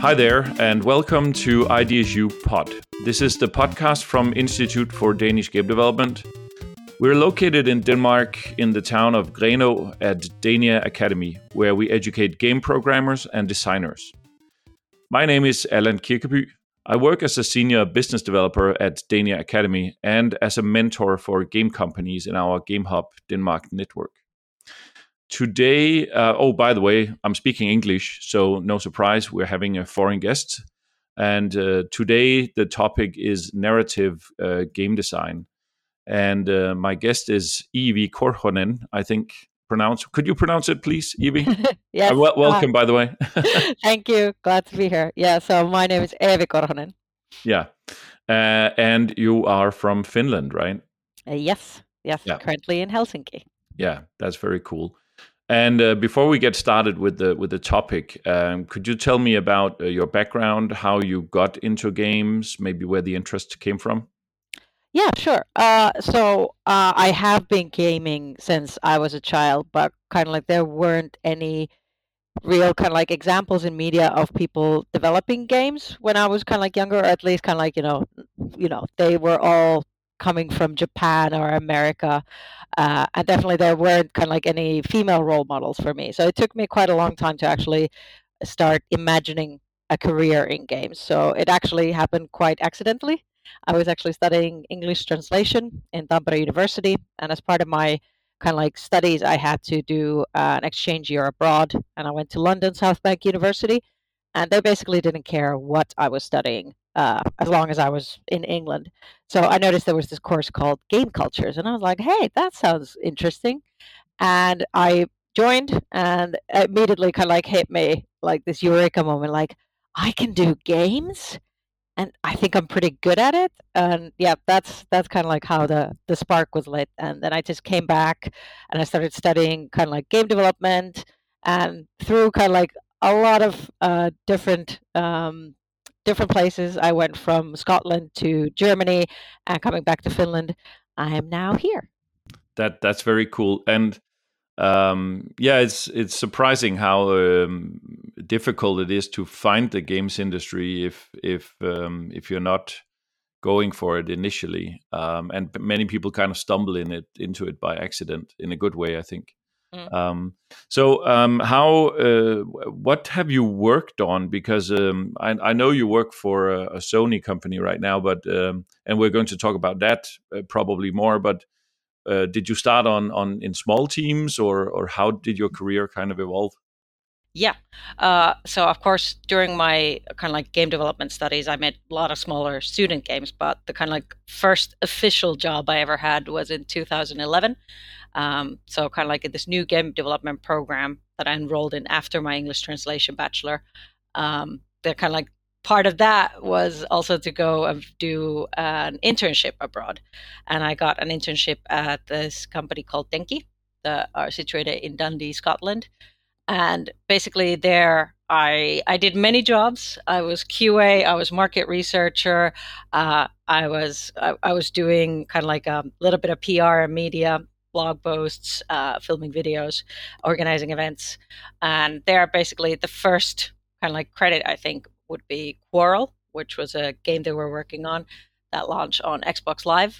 Hi there, and welcome to IDSU Pod. This is the podcast from Institute for Danish Game Development. We're located in Denmark in the town of Grenaa at Dania Academy, where we educate game programmers and designers. My name is Allan Kirkeby. I work as a senior business developer at Dania Academy and as a mentor for game companies in our GameHub Denmark network. Today, by the way, I'm speaking English, so no surprise, we're having a foreign guest. And today, the topic is narrative game design. And my guest is Evie Korhonen, I think. Could you pronounce it, please, Evie? Yes. Welcome, by the way. Thank you. Glad to be here. Yeah, so my name is Evie Korhonen. Yeah. And you are from Finland, right? Yes. Yeah. Currently in Helsinki. Yeah, that's very cool. And before we get started with the topic, could you tell me about your background, how you got into games, maybe where the interest came from? Yeah, sure. So I have been gaming since I was a child, but kind of like there weren't any real kind of like examples in media of people developing games when I was kind of like younger, or at least kind of like, they were all coming from Japan or America. And definitely there weren't kind of like any female role models for me. So it took me quite a long time to actually start imagining a career in games. So it actually happened quite accidentally. I was actually studying English translation in Tampere University. And as part of my kind of like studies, I had to do an exchange year abroad. And I went to London South Bank University. And they basically didn't care what I was studying as long as I was in England. So I noticed there was this course called Game Cultures, and I was like, hey, that sounds interesting. And I joined, and immediately kind of like hit me like this eureka moment, like, I can do games, and I think I'm pretty good at it. And yeah, that's kind of like how the spark was lit. And then I just came back and I started studying kind of like game development, and through kind of like a lot of different places. I went from Scotland to Germany, and coming back to Finland. I am now here. That's very cool. And it's surprising how difficult it is to find the games industry if you're not going for it initially, and many people kind of stumble into it by accident in a good way, I think. What have you worked on? Because I know you work for a Sony company right now, but and we're going to talk about that probably more. But did you start in small teams, or how did your career kind of evolve? Yeah. So of course, during my kind of like game development studies, I made a lot of smaller student games, but the kind of like first official job I ever had was in 2011. So kind of like in this new game development program that I enrolled in after my English translation bachelor. The kind of like part of that was also to go and do an internship abroad. And I got an internship at this company called Denki, that are situated in Dundee, Scotland. And basically there I did many jobs. I was QA, I was market researcher, I was doing kind of like a little bit of PR and media, blog posts, filming videos, organizing events. And there basically the first kind of like credit I think would be Quarrel, which was a game they were working on that launched on Xbox Live.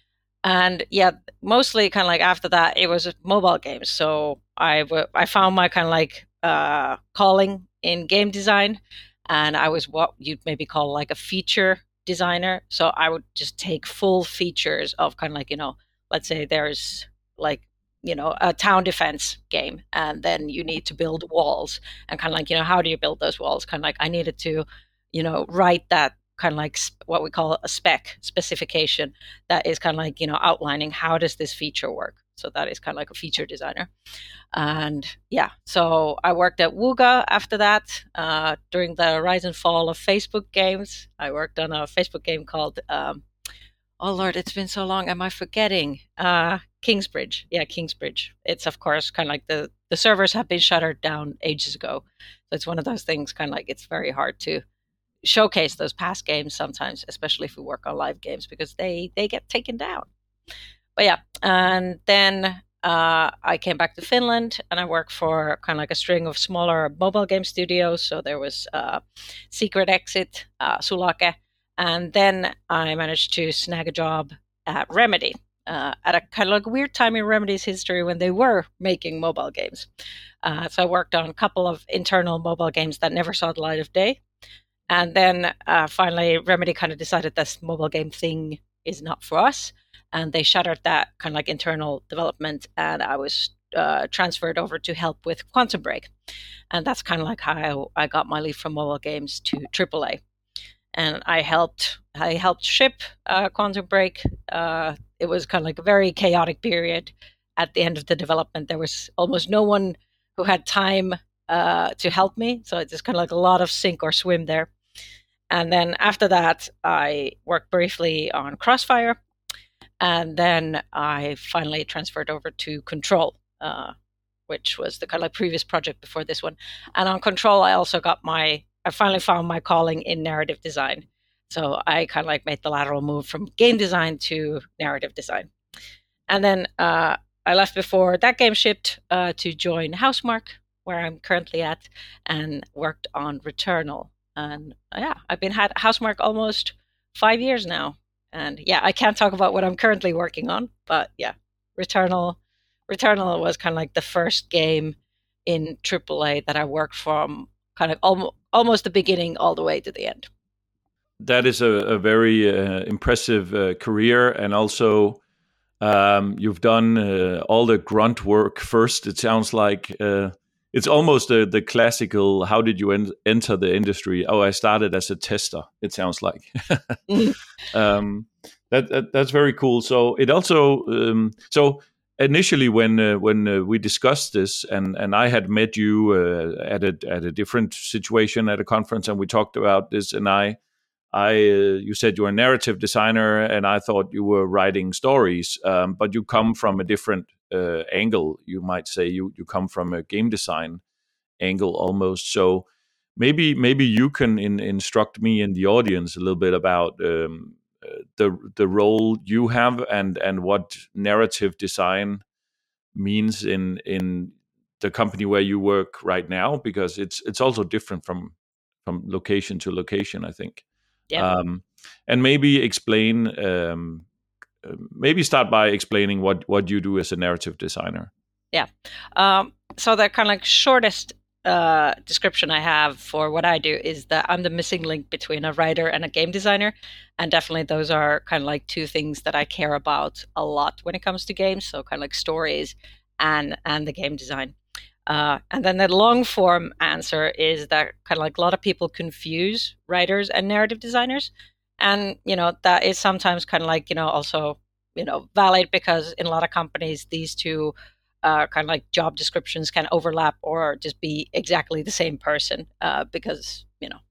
And yeah, mostly kind of like after that, it was mobile games. So I found my kind of like calling in game design, and I was what you'd maybe call like a feature designer. So I would just take full features of kind of like, let's say there's like, a town defense game, and then you need to build walls, and kind of like, how do you build those walls? Kind of like I needed to, write that kind of like what we call a specification that is kind of like, outlining how does this feature work. So that is kind of like a feature designer. And yeah, so I worked at Wooga after that. During the rise and fall of Facebook games, I worked on a Facebook game called, oh Lord, it's been so long. Am I forgetting? Kingsbridge. Yeah, Kingsbridge. It's of course kind of like the servers have been shuttered down ages ago. So it's one of those things kind of like it's very hard to showcase those past games sometimes, especially if we work on live games, because they get taken down. But yeah, and then I came back to Finland and I worked for kind of like a string of smaller mobile game studios. So there was Secret Exit, Sulake, and then I managed to snag a job at Remedy at a kind of like weird time in Remedy's history when they were making mobile games. So I worked on a couple of internal mobile games that never saw the light of day. And then finally, Remedy kind of decided this mobile game thing is not for us. And they shuttered that kind of like internal development. And I was transferred over to help with Quantum Break. And that's kind of like how I got my leap from mobile games to AAA. And I helped ship Quantum Break. It was kind of like a very chaotic period. At the end of the development, there was almost no one who had time to help me. So it's just kind of like a lot of sink or swim there. And then after that, I worked briefly on Crossfire. And then I finally transferred over to Control, which was the kind of like previous project before this one. And on Control, I finally found my calling in narrative design. So I kind of like made the lateral move from game design to narrative design. And then I left before that game shipped to join Housemarque, where I'm currently at, and worked on Returnal. And I've been at Housemarque almost 5 years now. And I can't talk about what I'm currently working on, but Returnal was kind of like the first game in AAA that I worked from kind of almost the beginning all the way to the end. That is a very impressive career, and also you've done all the grunt work first. It sounds like it's almost the classical, how did you enter the industry? Oh, I started as a tester, it sounds like. That's very cool. So it also, so initially when we discussed this, and I had met you at a different situation at a conference, and we talked about this, and you said you're a narrative designer, and I thought you were writing stories, but you come from a different angle. You might say you come from a game design angle almost. So maybe you can instruct me and the audience a little bit about the role you have and what narrative design means in the company where you work right now, because it's also different from location to location, I think. Yeah. And maybe explain. Maybe start by explaining what you do as a narrative designer. Yeah. So the kind of like shortest description I have for what I do is that I'm the missing link between a writer and a game designer. And definitely those are kind of like two things that I care about a lot when it comes to games. So kind of like stories and the game design. And then the long form answer is that kind of like a lot of people confuse writers and narrative designers. And, that is sometimes kind of like, also, valid, because in a lot of companies, these two kind of like job descriptions can overlap or just be exactly the same person because,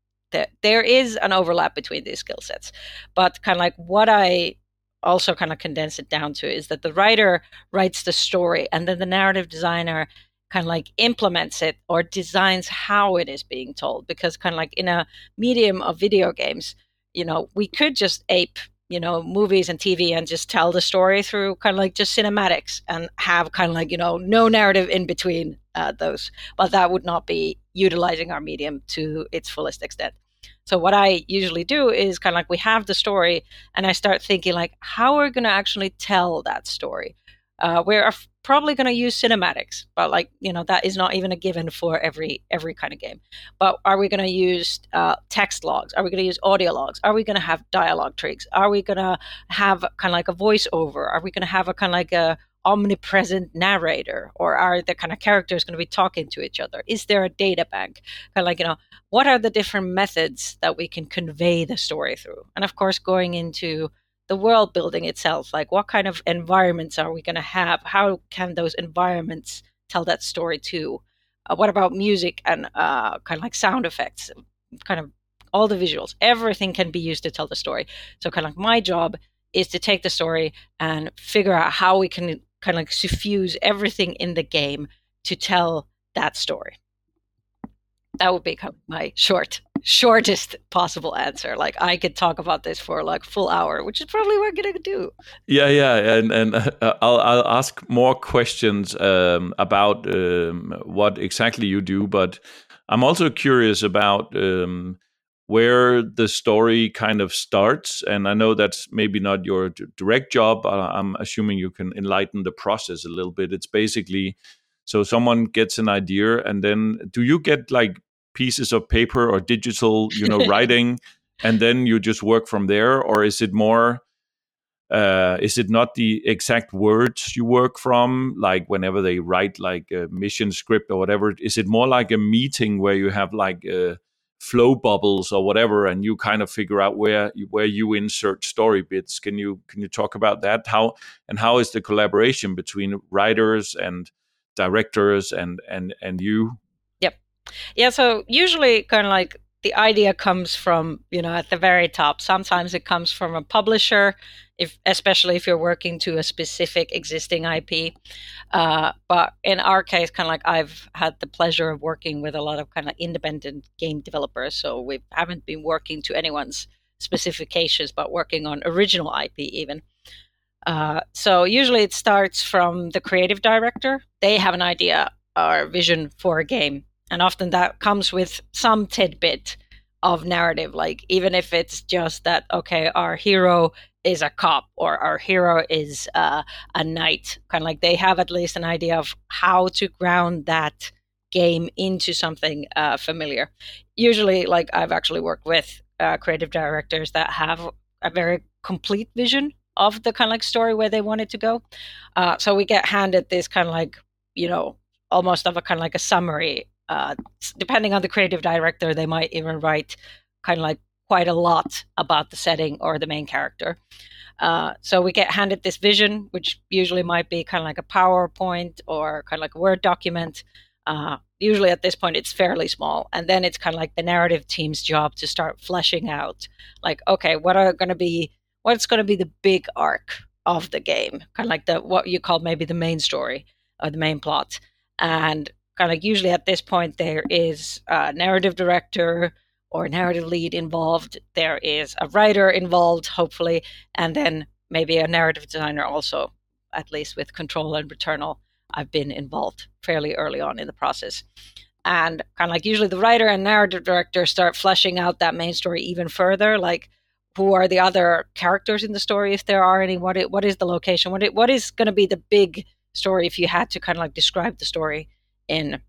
there is an overlap between these skill sets. But kind of like what I also kind of condense it down to is that the writer writes the story, and then the narrative designer kind of like implements it or designs how it is being told. Because kind of like in a medium of video games, we could just ape, movies and TV and just tell the story through kind of like just cinematics and have kind of like, no narrative in between those. But that would not be utilizing our medium to its fullest extent. So what I usually do is kind of like we have the story and I start thinking like, how are we going to actually tell that story? We're probably going to use cinematics, but like, that is not even a given for every kind of game. But are we going to use text logs? Are we going to use audio logs? Are we going to have dialogue tricks? Are we going to have kind of like a voiceover? Are we going to have a kind of like a omnipresent narrator, or are the kind of characters going to be talking to each other? Is there a data bank? Kind of like, what are the different methods that we can convey the story through? And of course, going into the world building itself, like what kind of environments are we going to have? How can those environments tell that story too? What about music and kind of like sound effects, kind of all the visuals? Everything can be used to tell the story. So kind of like my job is to take the story and figure out how we can kind of like suffuse everything in the game to tell that story. That would be kind of my shortest possible answer. Like I could talk about this for like full hour, which is probably what we're gonna do. Yeah, and I'll ask more questions about what exactly you do, but I'm also curious about where the story kind of starts. And I know that's maybe not your direct job. I'm assuming you can enlighten the process a little bit. It's basically so someone gets an idea, and then do you get like pieces of paper or digital, writing, and then you just work from there, or is it more? Is it not the exact words you work from, like whenever they write like a mission script or whatever? Is it more like a meeting where you have like flow bubbles or whatever, and you kind of figure out where you insert story bits? Can you talk about that? How is the collaboration between writers and directors and you? Yep. Yeah, so usually kind of like the idea comes from, at the very top. Sometimes it comes from a publisher, especially if you're working to a specific existing IP. But in our case, kind of like I've had the pleasure of working with a lot of kind of independent game developers. So we haven't been working to anyone's specifications, but working on original IP even. So usually it starts from the creative director. They have an idea or vision for a game. And often that comes with some tidbit of narrative, like even if it's just that, okay, our hero is a cop or our hero is a knight, kind of like they have at least an idea of how to ground that game into something familiar. Usually, like I've actually worked with creative directors that have a very complete vision of the kind of like story where they want it to go. So we get handed this kind of like, almost of a kind of like a summary. Depending on the creative director, they might even write kind of like quite a lot about the setting or the main character. So we get handed this vision, which usually might be kind of like a PowerPoint or kind of like a Word document. Usually at this point, it's fairly small. And then it's kind of like the narrative team's job to start fleshing out, like, okay, what's going to be the big arc of the game, kind of like what you call maybe the main story or the main plot. And kind of like usually at this point, there is a narrative director or narrative lead involved. There is a writer involved, hopefully, and then maybe a narrative designer also, at least with Control and Returnal. I've been involved fairly early on in the process. And kind of like usually the writer and narrative director start fleshing out that main story even further, like who are the other characters in the story, if there are any, what is the location, what is going to be the big story if you had to kind of like describe the story in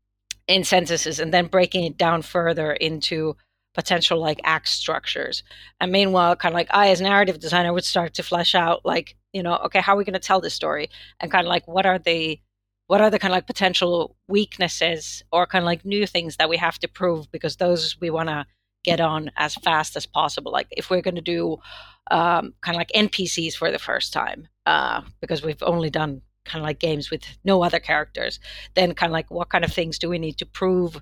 sentences, and then breaking it down further into potential like act structures. And meanwhile, kind of like I as narrative designer would start to flesh out like, okay, how are we going to tell this story, and kind of like what are the kind of like potential weaknesses or kind of like new things that we have to prove, because those we want to get on as fast as possible. Like if we're going to do kind of like NPCs for the first time, because we've only done kind of like games with no other characters, then kind of like what kind of things do we need to prove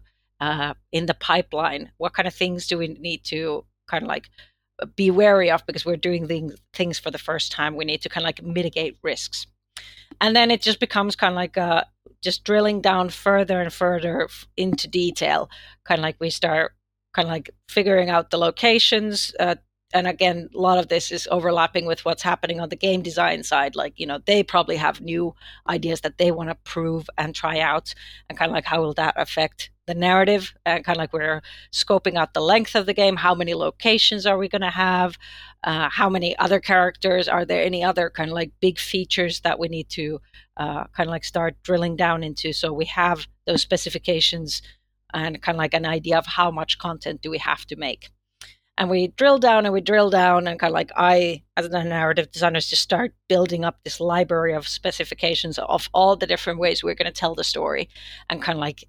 in the pipeline? What kind of things do we need to kind of like be wary of, because we're doing things for the first time? We need to kind of like mitigate risks. And then it just becomes kind of like just drilling down further and further into detail. Kind of like we start kind of like figuring out the locations, and again, a lot of this is overlapping with what's happening on the game design side. Like, they probably have new ideas that they want to prove and try out, and kind of like how will that affect the narrative? And kind of like we're scoping out the length of the game. How many locations are we going to have? How many other characters? Are there any other kind of like big features that we need to kind of like start drilling down into? So we have those specifications and kind of like an idea of how much content do we have to make. And we drill down and kind of like I, as a narrative designer, just start building up this library of specifications of all the different ways we're going to tell the story, and kind of like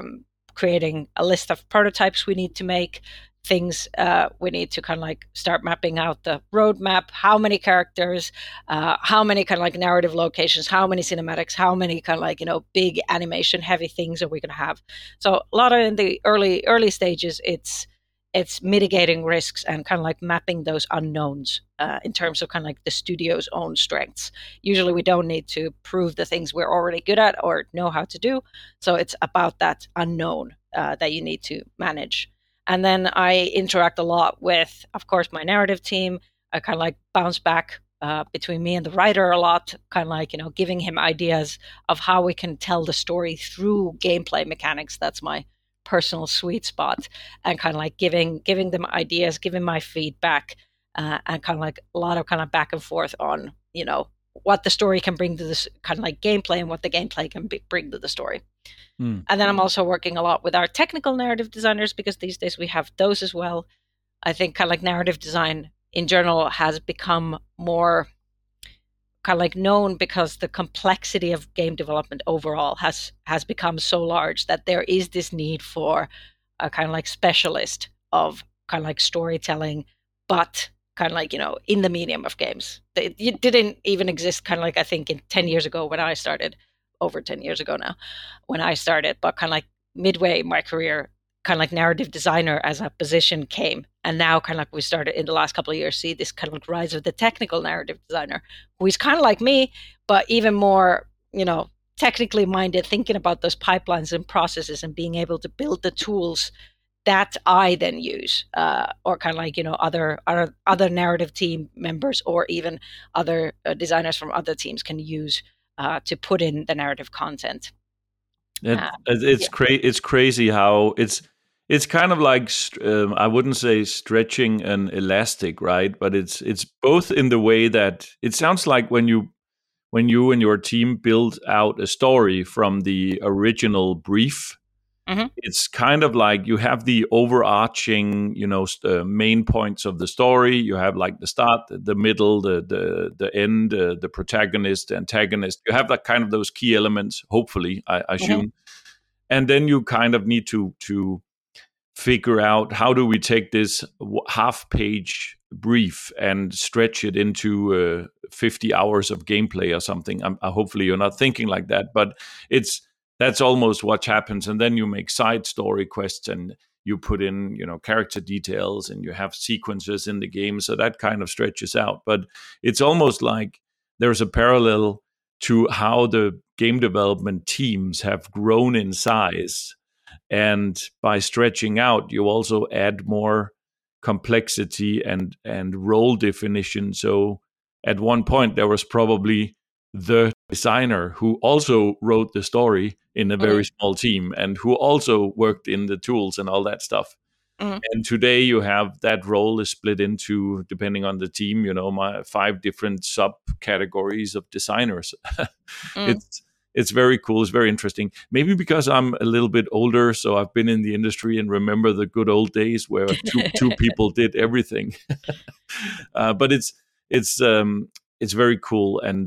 creating a list of prototypes we need to make, things we need to kind of like start mapping out the roadmap, how many characters, how many kind of like narrative locations, how many cinematics, how many kind of like, big animation heavy things are we going to have. So a lot of in the early stages, it's mitigating risks and kind of like mapping those unknowns in terms of kind of like the studio's own strengths. Usually we don't need to prove the things we're already good at or know how to do. So it's about that unknown that you need to manage. And then I interact a lot with, of course, my narrative team. I kind of like bounce back between me and the writer a lot, kind of like, giving him ideas of how we can tell the story through gameplay mechanics. That's my personal sweet spot, and kind of like giving them ideas, giving my feedback, and kind of like a lot of kind of back and forth on, what the story can bring to this kind of like gameplay and what the gameplay can bring to the story. And then I'm also working a lot with our technical narrative designers, because these days we have those as well. I think kind of like narrative design in general has become more kind of like known because the complexity of game development overall has become so large that there is this need for a kind of like specialist of kind of like storytelling, but kind of like, in the medium of games. It didn't even exist kind of like, I think, in 10 years ago when I started, over 10 years ago now, when I started, but kind of like midway in my career, kind of like narrative designer as a position came. And now kind of like we started in the last couple of years, see this kind of like rise of the technical narrative designer, who is kind of like me, but even more, technically minded, thinking about those pipelines and processes and being able to build the tools that I then use, or kind of like, other narrative team members, or even other designers from other teams can use to put in the narrative content. It's crazy how it's kind of like I wouldn't say stretching an elastic, right? But it's both in the way that it sounds like when you and your team build out a story from the original brief. Mm-hmm. It's kind of like you have the overarching, main points of the story. You have like the start, the middle, the end, the protagonist, the antagonist. You have that kind of those key elements, hopefully, I assume. Mm-hmm. And then you kind of need to figure out, how do we take this half-page brief and stretch it into 50 hours of gameplay or something. Hopefully you're not thinking like that, but that's almost what happens. And then you make side story quests, and you put in, character details, and you have sequences in the game. So that kind of stretches out. But it's almost like there's a parallel to how the game development teams have grown in size. And by stretching out, you also add more complexity and role definition. So at one point, there was probably the designer who also wrote the story in a very small team, and who also worked in the tools and all that stuff. Mm-hmm. And today you have that role is split into, depending on the team, my 5 different subcategories of designers. It's very cool. It's very interesting. Maybe because I'm a little bit older, so I've been in the industry and remember the good old days where two people did everything. But it's very cool. And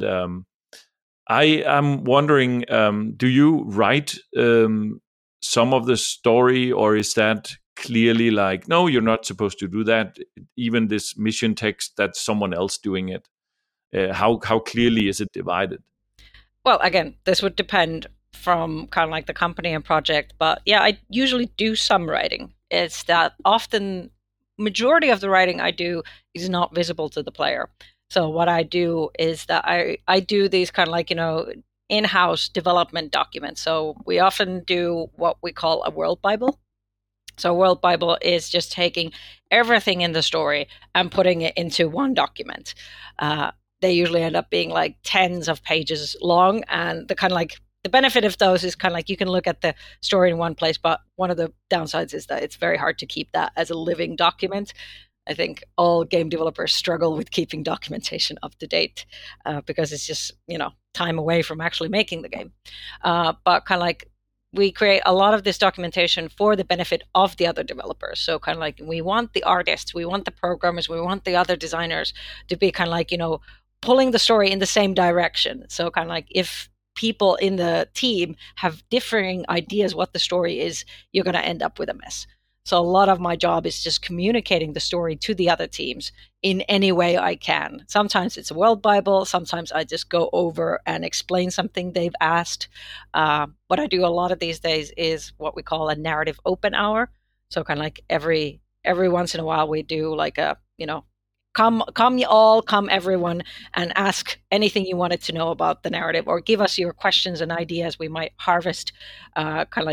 I am wondering, do you write some of the story, or is that clearly like, no, you're not supposed to do that? Even this mission text, that's someone else doing it. How clearly is it divided? Well, again, this would depend from kind of like the company and project, but yeah, I usually do some writing. It's that often majority of the writing I do is not visible to the player. So what I do is that I do these kind of like, in-house development documents. So we often do what we call a world Bible. So a world Bible is just taking everything in the story and putting it into one document. They usually end up being like tens of pages long, and the kind of like the benefit of those is kind of like you can look at the story in one place, but one of the downsides is that it's very hard to keep that as a living document. I think all game developers struggle with keeping documentation up to date because it's just, time away from actually making the game. But kind of like we create a lot of this documentation for the benefit of the other developers. So kind of like we want the artists, we want the programmers, we want the other designers to be kind of like, pulling the story in the same direction. So kind of like if people in the team have differing ideas what the story is, you're going to end up with a mess. So a lot of my job is just communicating the story to the other teams in any way I can. Sometimes it's a world Bible. Sometimes I just go over and explain something they've asked. What I do a lot of these days is what we call a narrative open hour. So kind of like every once in a while we do like a, come you all, come everyone, and ask anything you wanted to know about the narrative, or give us your questions and ideas. We might harvest kind of like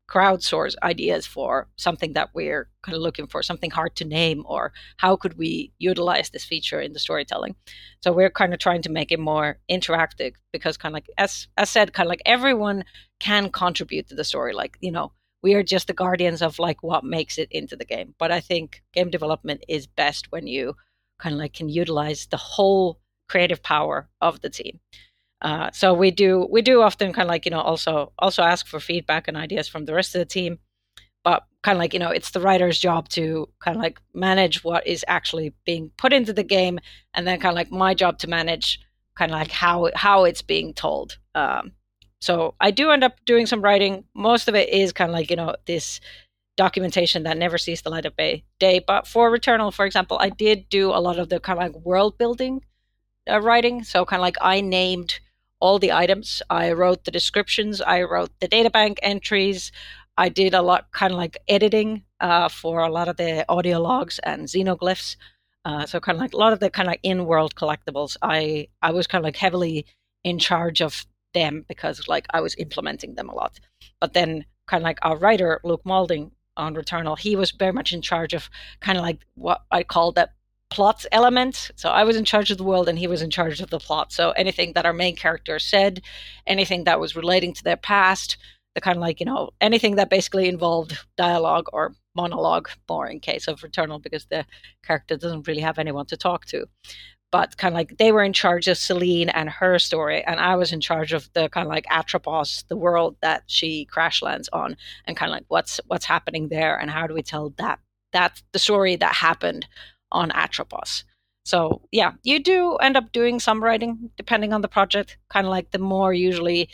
crowdsource ideas for something that we're kind of looking for, something hard to name, or how could we utilize this feature in the storytelling. So we're kind of trying to make it more interactive, because kind of like, as said, kind of like everyone can contribute to the story. Like, we are just the guardians of like what makes it into the game. But I think game development is best when you kind of like can utilize the whole creative power of the team. So we do often kind of like, also ask for feedback and ideas from the rest of the team, but kind of like, it's the writer's job to kind of like manage what is actually being put into the game, and then kind of like my job to manage kind of like how it's being told. So I do end up doing some writing. Most of it is kind of like, this documentation that never sees the light of day. But for Returnal, for example, I did do a lot of the kind of like world building writing. So kind of like I named all the items. I wrote the descriptions. I wrote the databank entries. I did a lot kind of like editing for a lot of the audio logs and xenoglyphs. So kind of like a lot of the kind of in-world collectibles. I was kind of like heavily in charge of them, because like I was implementing them a lot. But then kind of like our writer, Luke Malding on Returnal, he was very much in charge of kind of like what I call the plot element. So I was in charge of the world and he was in charge of the plot. So anything that our main character said, anything that was relating to their past, the kind of like, anything that basically involved dialogue or monologue, more in case of Returnal, because the character doesn't really have anyone to talk to. But kind of like they were in charge of Celine and her story, and I was in charge of the kind of like Atropos, the world that she crash lands on, and kind of like what's happening there, and how do we tell that the story that happened on Atropos. So yeah, you do end up doing some writing depending on the project. Kind of like the more usually,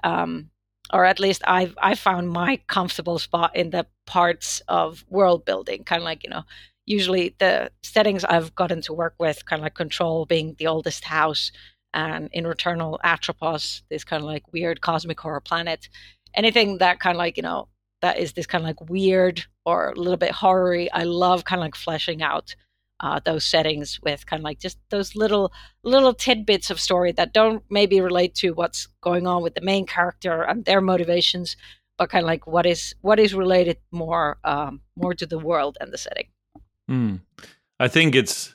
or at least I found my comfortable spot in the parts of world building. Kind of like, usually the settings I've gotten to work with, kind of like Control being the oldest house, and in Returnal, Atropos, this kind of like weird cosmic horror planet. Anything that kind of like, that is this kind of like weird or a little bit horror-y, I love kind of like fleshing out those settings with kind of like just those little tidbits of story that don't maybe relate to what's going on with the main character and their motivations, but kind of like what is related more to the world and the setting. I think it's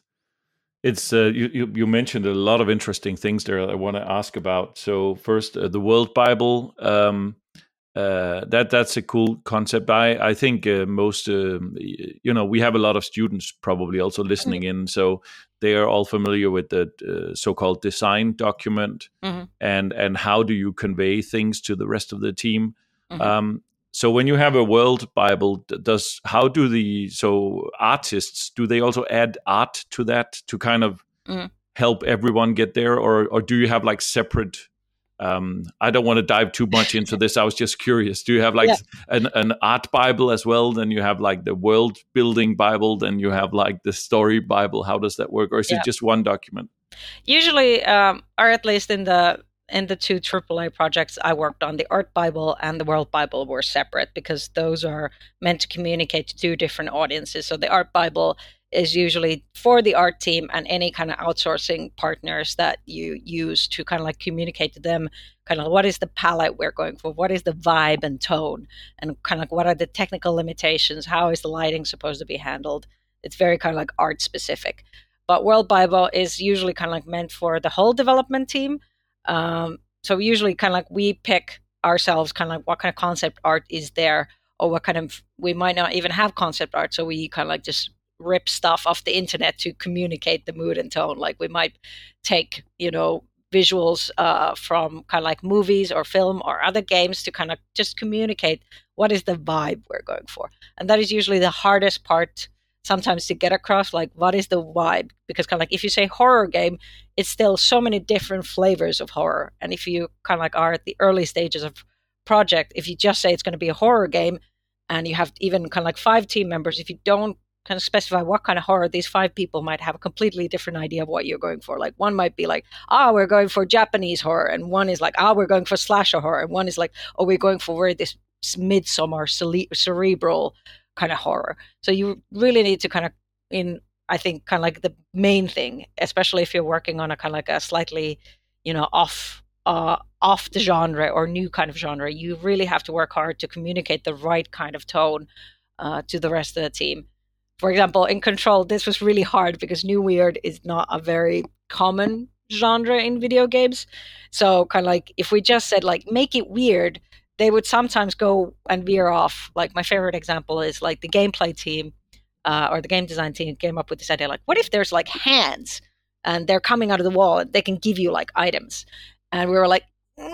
you mentioned a lot of interesting things there I want to ask about. So first, the World Bible. That's a cool concept. I think most we have a lot of students probably also listening in, so they are all familiar with the so-called design document, and how do you convey things to the rest of the team. So when you have a World Bible, how do the artists, do they also add art to that to kind of help everyone get there, or do you have like separate? I don't want to dive too much into this. I was just curious. Do you have like an art Bible as well? Then you have like the world building Bible. Then you have like the story Bible. How does that work? Or is it just one document? Usually, or at least in the two AAA projects I worked on, the Art Bible and the World Bible were separate, because those are meant to communicate to two different audiences. So the Art Bible is usually for the art team and any kind of outsourcing partners that you use to kind of like communicate to them kind of what is the palette we're going for, what is the vibe and tone, and kind of like what are the technical limitations, how is the lighting supposed to be handled. It's very kind of like art specific. But World Bible is usually kind of like meant for the whole development team. So usually kind of like we pick ourselves kind of like what kind of concept art is there, or what kind of, we might not even have concept art, so we kind of like just rip stuff off the internet to communicate the mood and tone. Like we might take, visuals from kind of like movies or film or other games to kind of just communicate what is the vibe we're going for. And that is usually the hardest part sometimes to get across, like what is the vibe, because kind of like if you say horror game, it's still so many different flavors of horror. And if you kind of like are at the early stages of project, if you just say it's going to be a horror game and you have even kind of like 5 team members, if you don't kind of specify what kind of horror, these 5 people might have a completely different idea of what you're going for. Like one might be like, we're going for Japanese horror, and one is like, we're going for slasher horror, and one is like, we're going for this midsummer cerebral kind of horror. So you really need to kind of, I think kind of like the main thing, especially if you're working on a kind of like a slightly, off off the genre or new kind of genre, you really have to work hard to communicate the right kind of tone to the rest of the team. For example, in Control, this was really hard because New Weird is not a very common genre in video games. So kind of like if we just said like make it weird, they would sometimes go and veer off. Like my favorite example is like the gameplay team or the game design team came up with this idea like, what if there's like hands and they're coming out of the wall and they can give you like items? And we were like,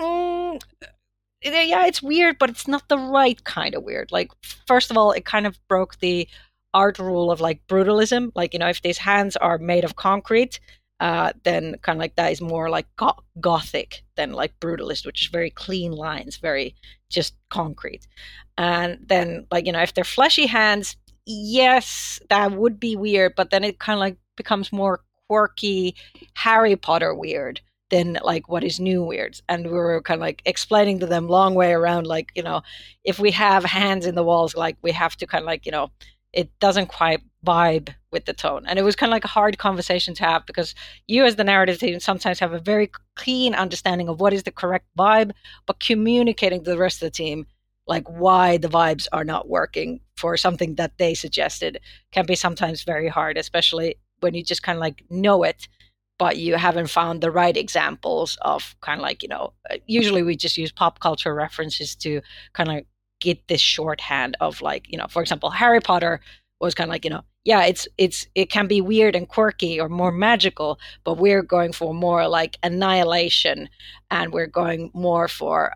yeah, it's weird, but it's not the right kind of weird. Like, first of all, it kind of broke the art rule of like brutalism. Like, if these hands are made of concrete, then kind of like that is more like gothic than like brutalist, which is very clean lines, very just concrete. And then like, if they're fleshy hands, yes, that would be weird, but then it kind of like becomes more quirky Harry Potter weird than like what is new weird. And we were kind of like explaining to them long way around, like, if we have hands in the walls, like we have to kind of like, it doesn't quite vibe with the tone. And it was kind of like a hard conversation to have because you as the narrative team sometimes have a very clean understanding of what is the correct vibe, but communicating to the rest of the team like why the vibes are not working for something that they suggested can be sometimes very hard, especially when you just kind of like know it, but you haven't found the right examples of kind of like, usually we just use pop culture references to kind of get this shorthand of like, for example, Harry Potter was kind of like, yeah, it can be weird and quirky or more magical, but we're going for more like annihilation, and we're going more for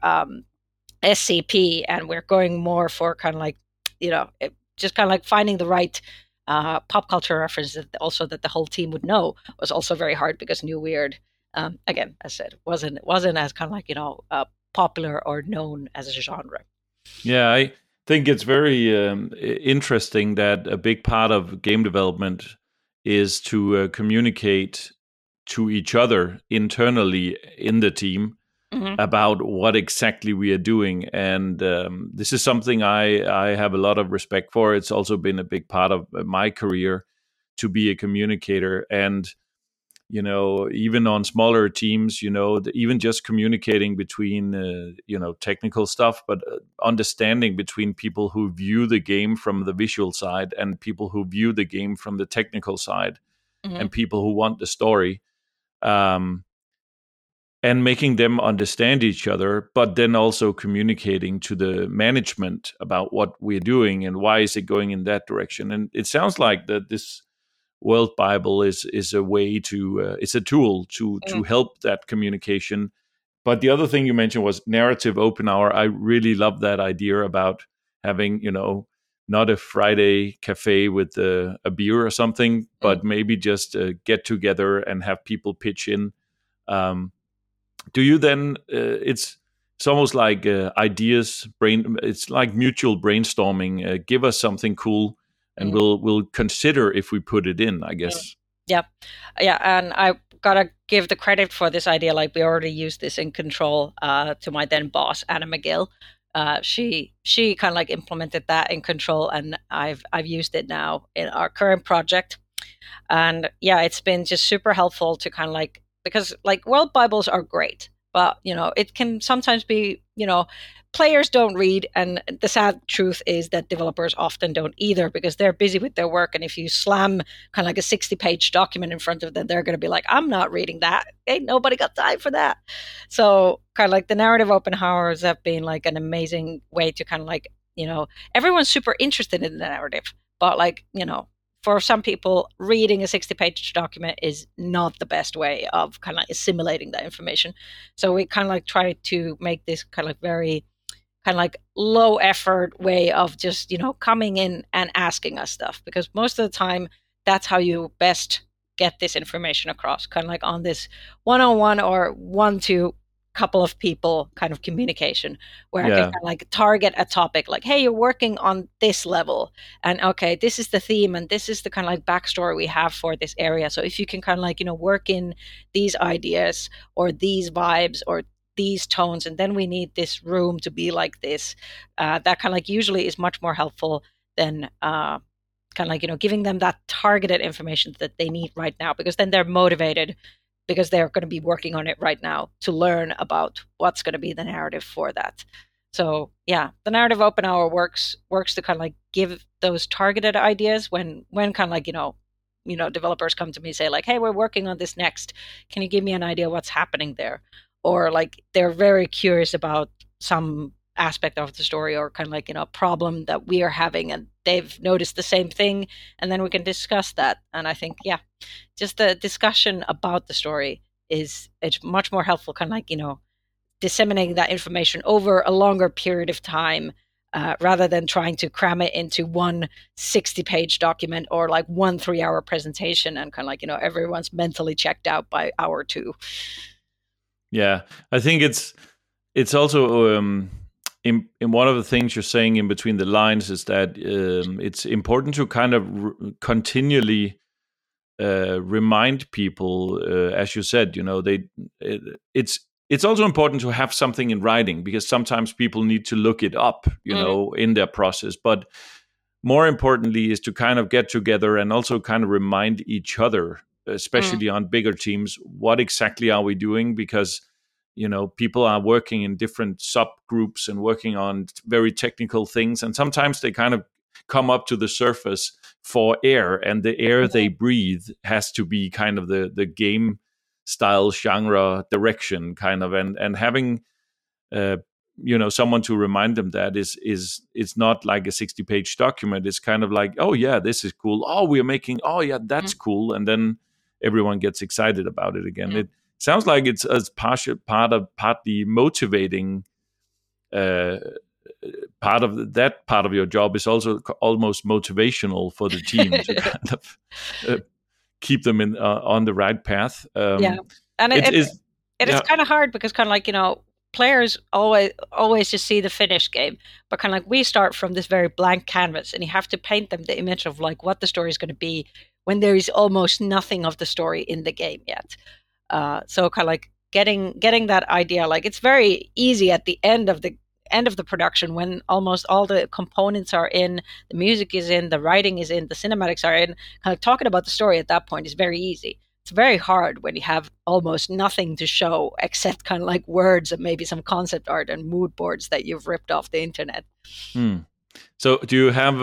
SCP, and we're going more for kind of like, just kind of like finding the right pop culture references also that the whole team would know was also very hard because New Weird, again, as I said, wasn't as kind of like, popular or known as a genre. Yeah, I think it's very interesting that a big part of game development is to communicate to each other internally in the team about what exactly we are doing. And this is something I have a lot of respect for. It's also been a big part of my career to be a communicator. And even on smaller teams, even just communicating between, technical stuff, but understanding between people who view the game from the visual side and people who view the game from the technical side, and people who want the story, and making them understand each other, but then also communicating to the management about what we're doing and why is it going in that direction. And it sounds like that this World Bible is a way to it's a tool to help that communication. But the other thing you mentioned was narrative open hour. I really love that idea about having not a Friday cafe with a beer or something, but maybe just get together and have people pitch in. Do you then? It's almost like ideas brain. It's like mutual brainstorming. Give us something cool, and we'll consider if we put it in, I guess. Yeah. And I gotta give the credit for this idea. Like we already used this in Control to my then boss, Anna McGill. She kind of like implemented that in Control, and I've used it now in our current project. And yeah, it's been just super helpful to kind of like, because like World Bibles are great, but it can sometimes be, players don't read, and the sad truth is that developers often don't either because they're busy with their work. And if you slam kind of like a 60-page document in front of them, they're going to be like, I'm not reading that. Ain't nobody got time for that. So kind of like the narrative open hours have been like an amazing way to kind of like, everyone's super interested in the narrative, but like, for some people, reading a 60-page document is not the best way of kind of like assimilating that information. So we kind of like try to make this kind of like very kind of like low effort way of just, coming in and asking us stuff, because most of the time that's how you best get this information across, kind of like on this one-on-one or one-to couple of people kind of communication where I can kind of like target a topic like, hey, you're working on this level, and okay, this is the theme and this is the kind of like backstory we have for this area. So if you can kind of like, work in these ideas or these vibes or these tones, and then we need this room to be like this, that kind of like usually is much more helpful than kind of like, giving them that targeted information that they need right now, because then they're motivated because they're going to be working on it right now to learn about what's going to be the narrative for that. So yeah, the narrative open hour works to kind of like give those targeted ideas when kind of like, developers come to me and say like, hey, we're working on this next. Can you give me an idea what's happening there? Or like they're very curious about some aspect of the story or kind of like, problem that we are having and they've noticed the same thing. And then we can discuss that. And I think, yeah, just the discussion about the story it's much more helpful, kind of like, disseminating that information over a longer period of time rather than trying to cram it into one 60-page document or like one 3-hour presentation and kind of like, everyone's mentally checked out by hour 2. Yeah, I think it's also in one of the things you're saying in between the lines is that it's important to kind of continually remind people, as you said, it's also important to have something in writing because sometimes people need to look it up, in their process. But more importantly is to kind of get together and also kind of remind each other, especially on bigger teams, what exactly are we doing? Because, people are working in different subgroups and working on very technical things. And sometimes they kind of come up to the surface for air, and the air they breathe has to be kind of the game style, genre, direction kind of, and having someone to remind them that is it's not like a 60-page document. It's kind of like, oh yeah, this is cool. Oh, we're making, oh yeah, that's cool. And then everyone gets excited about it again. It sounds like it's as partly motivating. Part of your job is also almost motivational for the team to kind of keep them in on the right path. Yeah, and it is kind of hard because kind of like, players always just see the finished game, but kind of like we start from this very blank canvas and you have to paint them the image of like what the story is going to be when there is almost nothing of the story in the game yet. So kind of like getting that idea, like it's very easy at the end of the production when almost all the components are in, the music is in, the writing is in, the cinematics are in. Kind of talking about the story at that point is very easy. It's very hard when you have almost nothing to show except kind of like words and maybe some concept art and mood boards that you've ripped off the internet. So do you have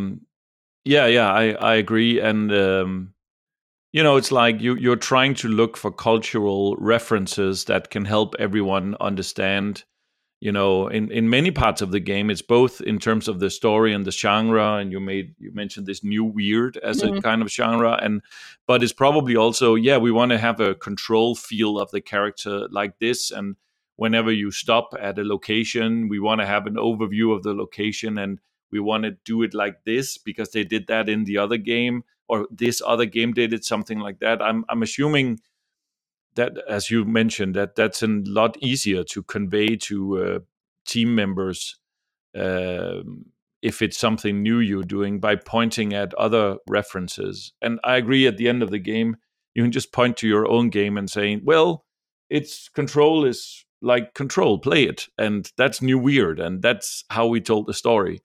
I agree. And it's like you're trying to look for cultural references that can help everyone understand. In many parts of the game, it's both in terms of the story and the genre, and you mentioned this new weird as a kind of genre, but it's probably also, we want to have a control feel of the character like this, and whenever you stop at a location, we want to have an overview of the location, and we want to do it like this because they did that in the other game, or this other game did it, something like that. I'm assuming that, as you mentioned, that's a lot easier to convey to team members if it's something new you're doing by pointing at other references. And I agree, at the end of the game, you can just point to your own game and saying, well, its Control is like Control, play it. And that's new weird. And that's how we told the story.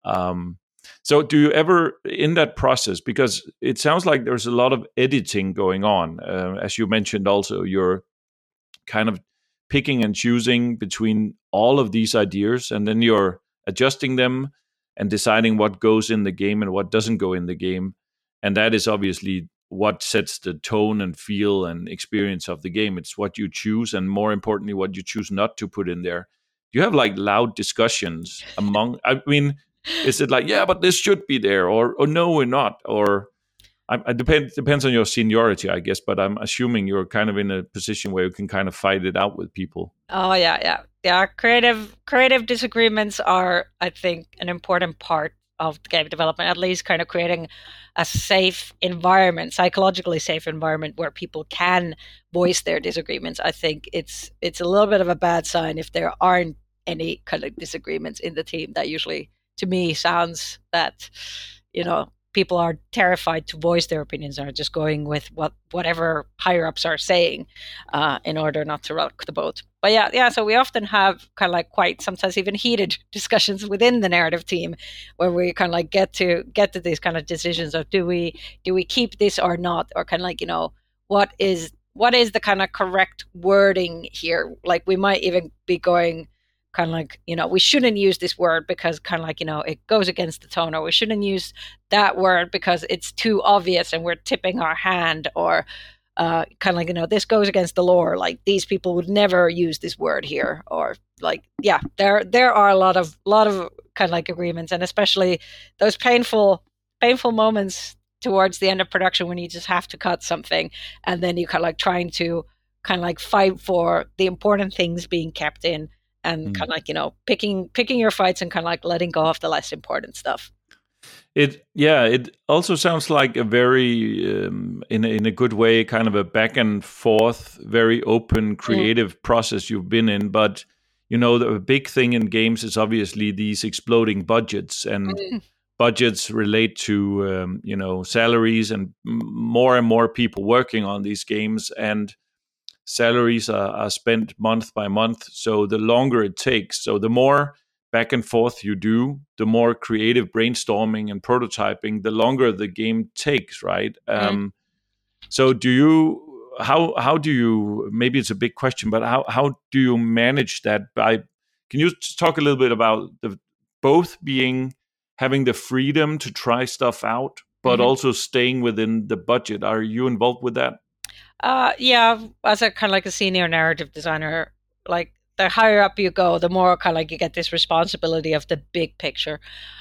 So do you ever, in that process, because it sounds like there's a lot of editing going on, as you mentioned also, you're kind of picking and choosing between all of these ideas, and then you're adjusting them and deciding what goes in the game and what doesn't go in the game. And that is obviously what sets the tone and feel and experience of the game. It's what you choose, and more importantly, what you choose not to put in there. Do you have like loud discussions among, is it like, yeah, but this should be there, or no, we're not, or it depends on your seniority, I guess, but I'm assuming you're kind of in a position where you can kind of fight it out with people. Oh yeah. Creative disagreements are, I think, an important part of game development, at least kind of creating a safe environment, psychologically safe environment where people can voice their disagreements. I think it's a little bit of a bad sign if there aren't any kind of disagreements in the team. That usually, to me, sounds that, people are terrified to voice their opinions, are just going with whatever higher ups are saying in order not to rock the boat. But yeah. So we often have kind of like quite sometimes even heated discussions within the narrative team, where we kind of like get to these kind of decisions of do we keep this or not, or kind of like, what is what is the kind of correct wording here? Like we might even be going kind of like, we shouldn't use this word because kind of like, it goes against the tone, or we shouldn't use that word because it's too obvious and we're tipping our hand, or kind of like, this goes against the lore. Like these people would never use this word here, or like, yeah, there are a lot of kind of like agreements, and especially those painful moments towards the end of production when you just have to cut something, and then you kind of like trying to kind of like fight for the important things being kept in, and kind of like picking your fights and kind of like letting go of the less important stuff. It also sounds like a very in a good way, kind of a back and forth, very open, creative process you've been in. But the big thing in games is obviously these exploding budgets, and budgets relate to salaries, and more and more people working on these games, and salaries are spent month by month. So the longer it takes, so the more back and forth you do, the more creative brainstorming and prototyping, the longer the game takes, right? So how do you, maybe it's a big question, but how do you manage that? Can you talk a little bit about both having the freedom to try stuff out, but also staying within the budget? Are you involved with that? Yeah, as a kind of like a senior narrative designer, like the higher up you go, the more kind of like you get this responsibility of the big picture.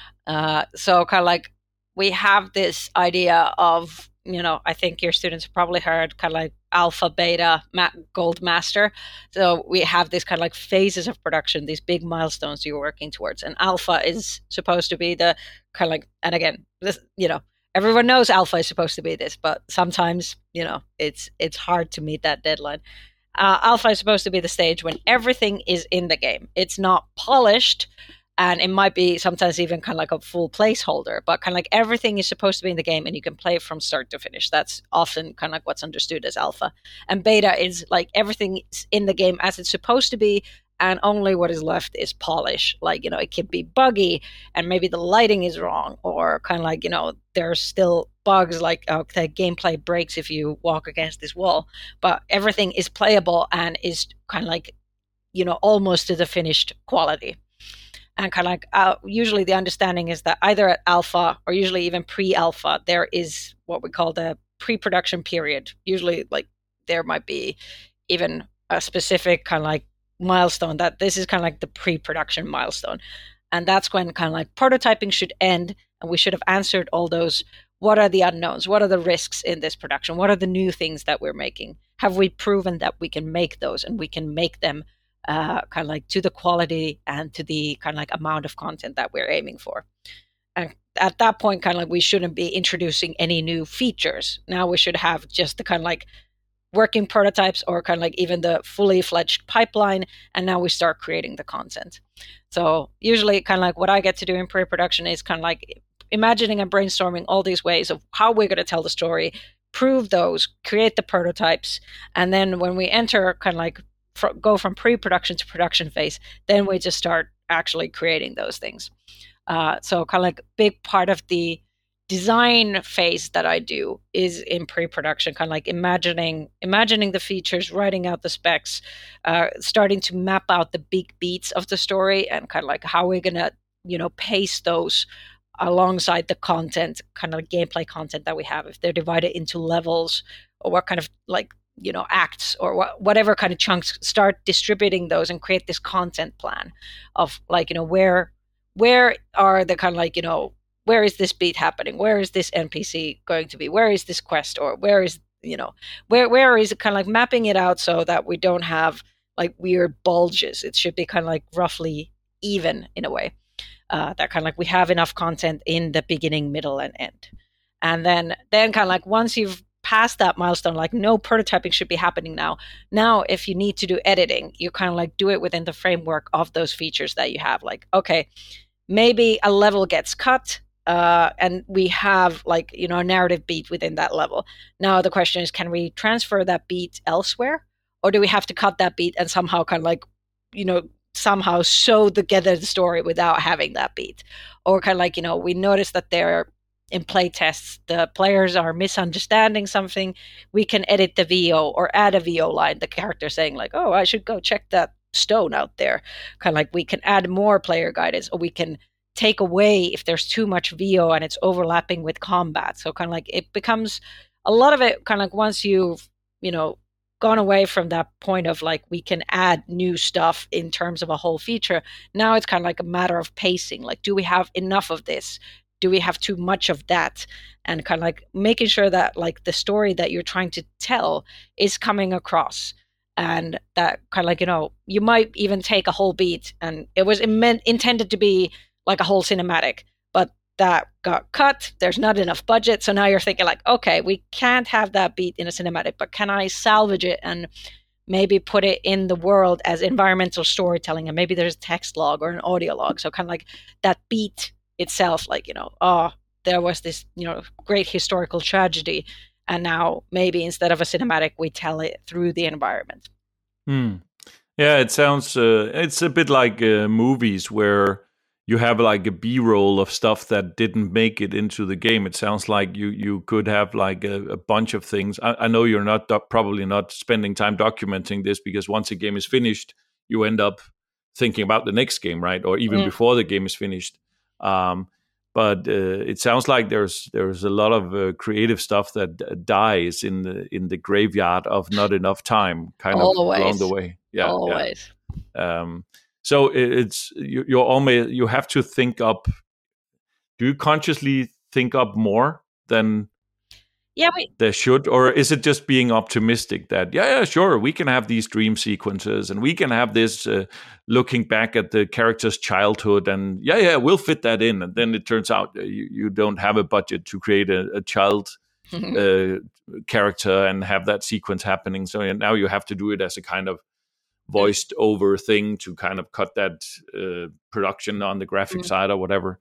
So kind of like we have this idea of, I think your students have probably heard kind of like alpha, beta, gold, master. So we have this kind of like phases of production, these big milestones you're working towards. And alpha is supposed to be the kind of like, and again, this, everyone knows alpha is supposed to be this, but sometimes, it's hard to meet that deadline. Alpha is supposed to be the stage when everything is in the game. It's not polished, and it might be sometimes even kind of like a full placeholder, but kind of like everything is supposed to be in the game and you can play from start to finish. That's often kind of like what's understood as alpha. And beta is like everything is in the game as it's supposed to be, and only what is left is polish. Like, it could be buggy and maybe the lighting is wrong, or kind of like, there's still bugs, like the gameplay breaks if you walk against this wall, but everything is playable and is kind of like, almost to the finished quality. And kind of like usually the understanding is that either at alpha or usually even pre-alpha, there is what we call the pre-production period. Usually like there might be even a specific kind of like milestone that this is kind of like the pre-production milestone. And that's when kind of like prototyping should end, and we should have answered all those, what are the unknowns? What are the risks in this production? What are the new things that we're making? Have we proven that we can make those, and we can make them kind of like to the quality and to the kind of like amount of content that we're aiming for? And at that point, kind of like we shouldn't be introducing any new features. Now we should have just the kind of like working prototypes, or kind of like even the fully fledged pipeline, and now we start creating the content. So usually kind of like what I get to do in pre-production is kind of like imagining and brainstorming all these ways of how we're going to tell the story, prove those, create the prototypes, and then when we enter kind of like go from pre-production to production phase, then we just start actually creating those things. So kind of like big part of the design phase that I do is in pre-production, kind of like imagining the features, writing out the specs, starting to map out the big beats of the story, and kind of like how we're gonna, pace those alongside the content, kind of like gameplay content that we have, if they're divided into levels, or what kind of like, acts, or whatever kind of chunks, start distributing those and create this content plan of like, where are the kind of like, where is this beat happening? Where is this NPC going to be? Where is this quest? Or where is, where is it, kind of like mapping it out so that we don't have like weird bulges. It should be kind of like roughly even in a way. That kind of like we have enough content in the beginning, middle, and end. And then kind of like once you've passed that milestone, like no prototyping should be happening now. Now, if you need to do editing, you kind of like do it within the framework of those features that you have. Like, okay, maybe a level gets cut, and we have like, a narrative beat within that level. Now the question is, can we transfer that beat elsewhere, or do we have to cut that beat and somehow kind of like, somehow sew together the story without having that beat? Or kind of like, we notice that there in play tests the players are misunderstanding something, we can edit the VO or add a VO line, the character saying like, oh, I should go check that stone out there. Kind of like we can add more player guidance, or we can take away if there's too much VO and it's overlapping with combat. So kind of like it becomes a lot of it kind of like once you've, gone away from that point of like we can add new stuff in terms of a whole feature. Now it's kind of like a matter of pacing. Like, do we have enough of this? Do we have too much of that? And kind of like making sure that like the story that you're trying to tell is coming across. And that kind of like, you might even take a whole beat and it was intended to be like a whole cinematic, but that got cut. There's not enough budget. So now you're thinking like, okay, we can't have that beat in a cinematic, but can I salvage it and maybe put it in the world as environmental storytelling? And maybe there's a text log or an audio log. So kind of like that beat itself, like, there was this, great historical tragedy. And now maybe instead of a cinematic, we tell it through the environment. Yeah, it sounds, it's a bit like movies where you have like a B-roll of stuff that didn't make it into the game. It sounds like you could have like a bunch of things. I know you're not probably not spending time documenting this, because once a game is finished, you end up thinking about the next game, right? Or even before the game is finished. But it sounds like there's a lot of creative stuff that dies in the graveyard of not enough time, kind of along the way. Yeah, always. Yeah. So it's you have to think up. Do you consciously think up more than there should, or is it just being optimistic that sure, we can have these dream sequences and we can have this looking back at the character's childhood, and we'll fit that in, and then it turns out you don't have a budget to create a child character and have that sequence happening. So now you have to do it as a kind of voiced over thing to kind of cut that production on the graphic side or whatever.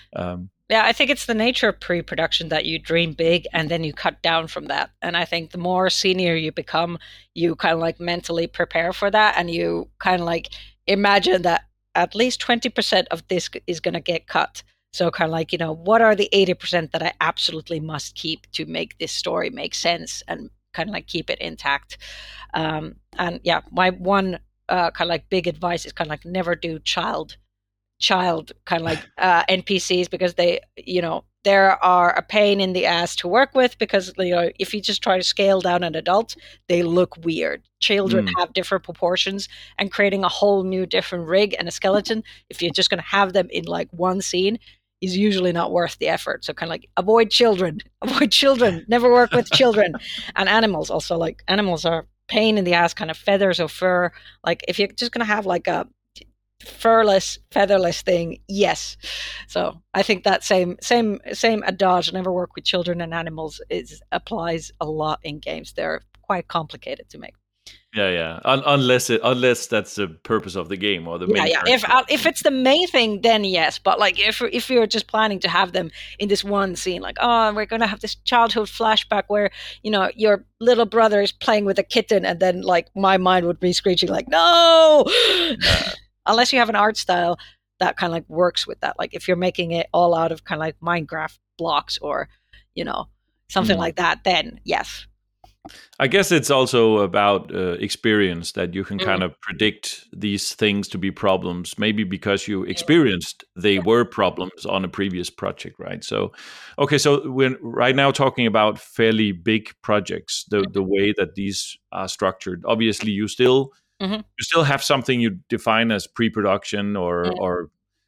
I think it's the nature of pre-production that you dream big and then you cut down from that. And I think the more senior you become, you kind of like mentally prepare for that, and you kind of like imagine that at least 20% of this is going to get cut. So kind of like, what are the 80% that I absolutely must keep to make this story make sense and kind of like keep it intact. And my one kind of like big advice is kind of like never do child kind of like NPCs, because they, there are a pain in the ass to work with, because if you just try to scale down an adult, they look weird. Children have different proportions, and creating a whole new different rig and a skeleton, if you're just going to have them in like one scene, is usually not worth the effort. So kind of like avoid children, never work with children. And animals also, like animals are pain in the ass, kind of feathers or fur. Like if you're just going to have like a furless, featherless thing, yes. So I think that same adage, never work with children and animals, applies a lot in games. They're quite complicated to make. Unless that's the purpose of the game or the main if it's the main thing, then yes. But like if you're just planning to have them in this one scene, like, oh, we're gonna have this childhood flashback where your little brother is playing with a kitten, and then like my mind would be screeching like, no. Unless you have an art style that kind of like works with that. Like if you're making it all out of kind of like Minecraft blocks or, something like that, then yes. I guess it's also about experience, that you can kind of predict these things to be problems, maybe because you experienced they were problems on a previous project, right? So, okay, so we're right now talking about fairly big projects, the way that these are structured. Obviously, you still have something you define as pre-production or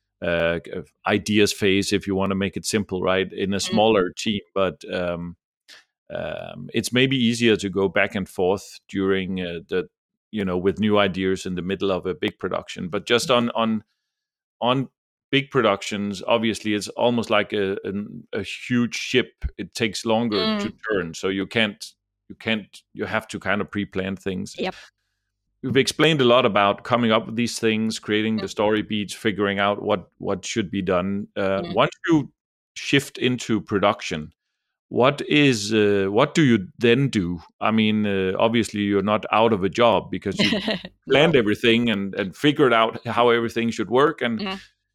ideas phase, if you want to make it simple, right? In a smaller team, but it's maybe easier to go back and forth during with new ideas in the middle of a big production. But just on big productions, obviously, it's almost like a huge ship. It takes longer to turn, so you have to kind of pre-plan things. Yep. We've explained a lot about coming up with these things, creating the story beats, figuring out what should be done. Once you shift into production, what do you then do? I mean, obviously you're not out of a job because you planned everything and figured out how everything should work. And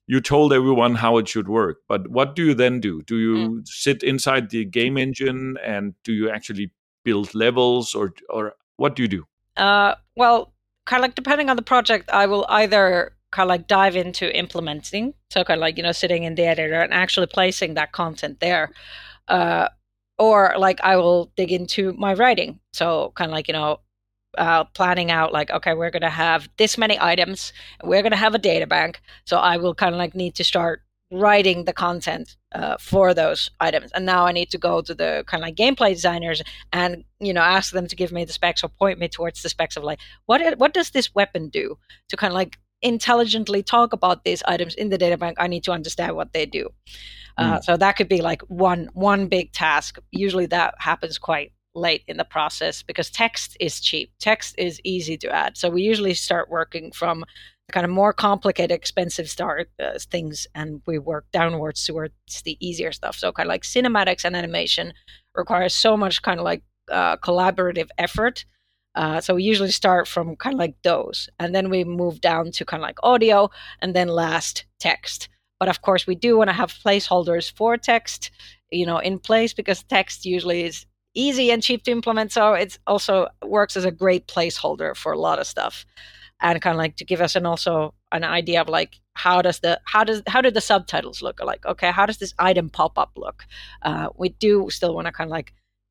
you told everyone how it should work. But what do you then do? Do Mm. you sit inside the game engine and do you actually build levels, or what do you do? Well, kind of like depending on the project, I will either kind of like dive into implementing, so kind of like sitting in the editor and actually placing that content there, uh, or like I will dig into my writing, so kind of like planning out like, okay, we're going to have this many items, we're going to have a data bank, so I will kind of like need to start writing the content for those items, and now I need to go to the kind of like gameplay designers and ask them to give me the specs or point me towards the specs of like what does this weapon do, to kind of like intelligently talk about these items in the data bank. I need to understand what they do. So that could be like one big task. Usually that happens quite late in the process because text is cheap. Text is easy to add. So we usually start working from kind of more complicated, expensive things, and we work downwards towards the easier stuff. So kind of like cinematics and animation requires so much kind of like collaborative effort. So we usually start from kind of like those, and then we move down to kind of like audio, and then last text. But of course, we do want to have placeholders for text, in place, because text usually is easy and cheap to implement. So it also works as a great placeholder for a lot of stuff, and kind of like to give us also an idea of like how do the subtitles look, like, okay, how does this item pop up look. We do still want to kind of like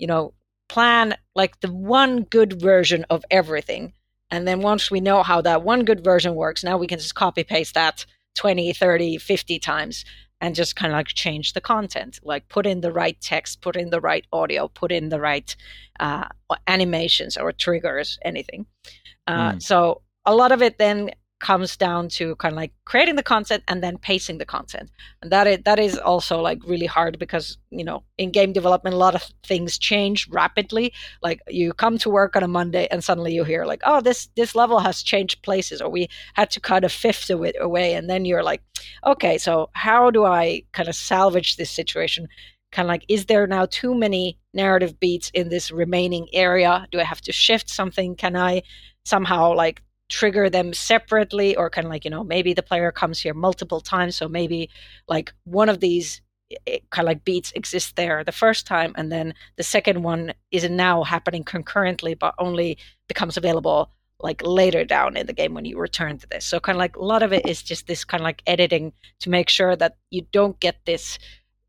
plan like the one good version of everything, and then once we know how that one good version works, now we can just copy paste that 20, 30, 50 times and just kind of like change the content, like put in the right text, put in the right audio, put in the right animations or triggers, anything. So a lot of it then comes down to kind of like creating the content and then pacing the content, and that is also like really hard because in game development a lot of things change rapidly. Like you come to work on a Monday and suddenly you hear like, oh, this level has changed places, or we had to cut a fifth of it away, and then you're like, okay, so how do I kind of salvage this situation? Kind of like, is there now too many narrative beats in this remaining area? Do I have to shift something? Can I somehow like trigger them separately, or kind of like maybe the player comes here multiple times, so maybe like one of these kind of like beats exists there the first time, and then the second one is now happening concurrently but only becomes available like later down in the game when you return to this. So kind of like a lot of it is just this kind of like editing to make sure that you don't get this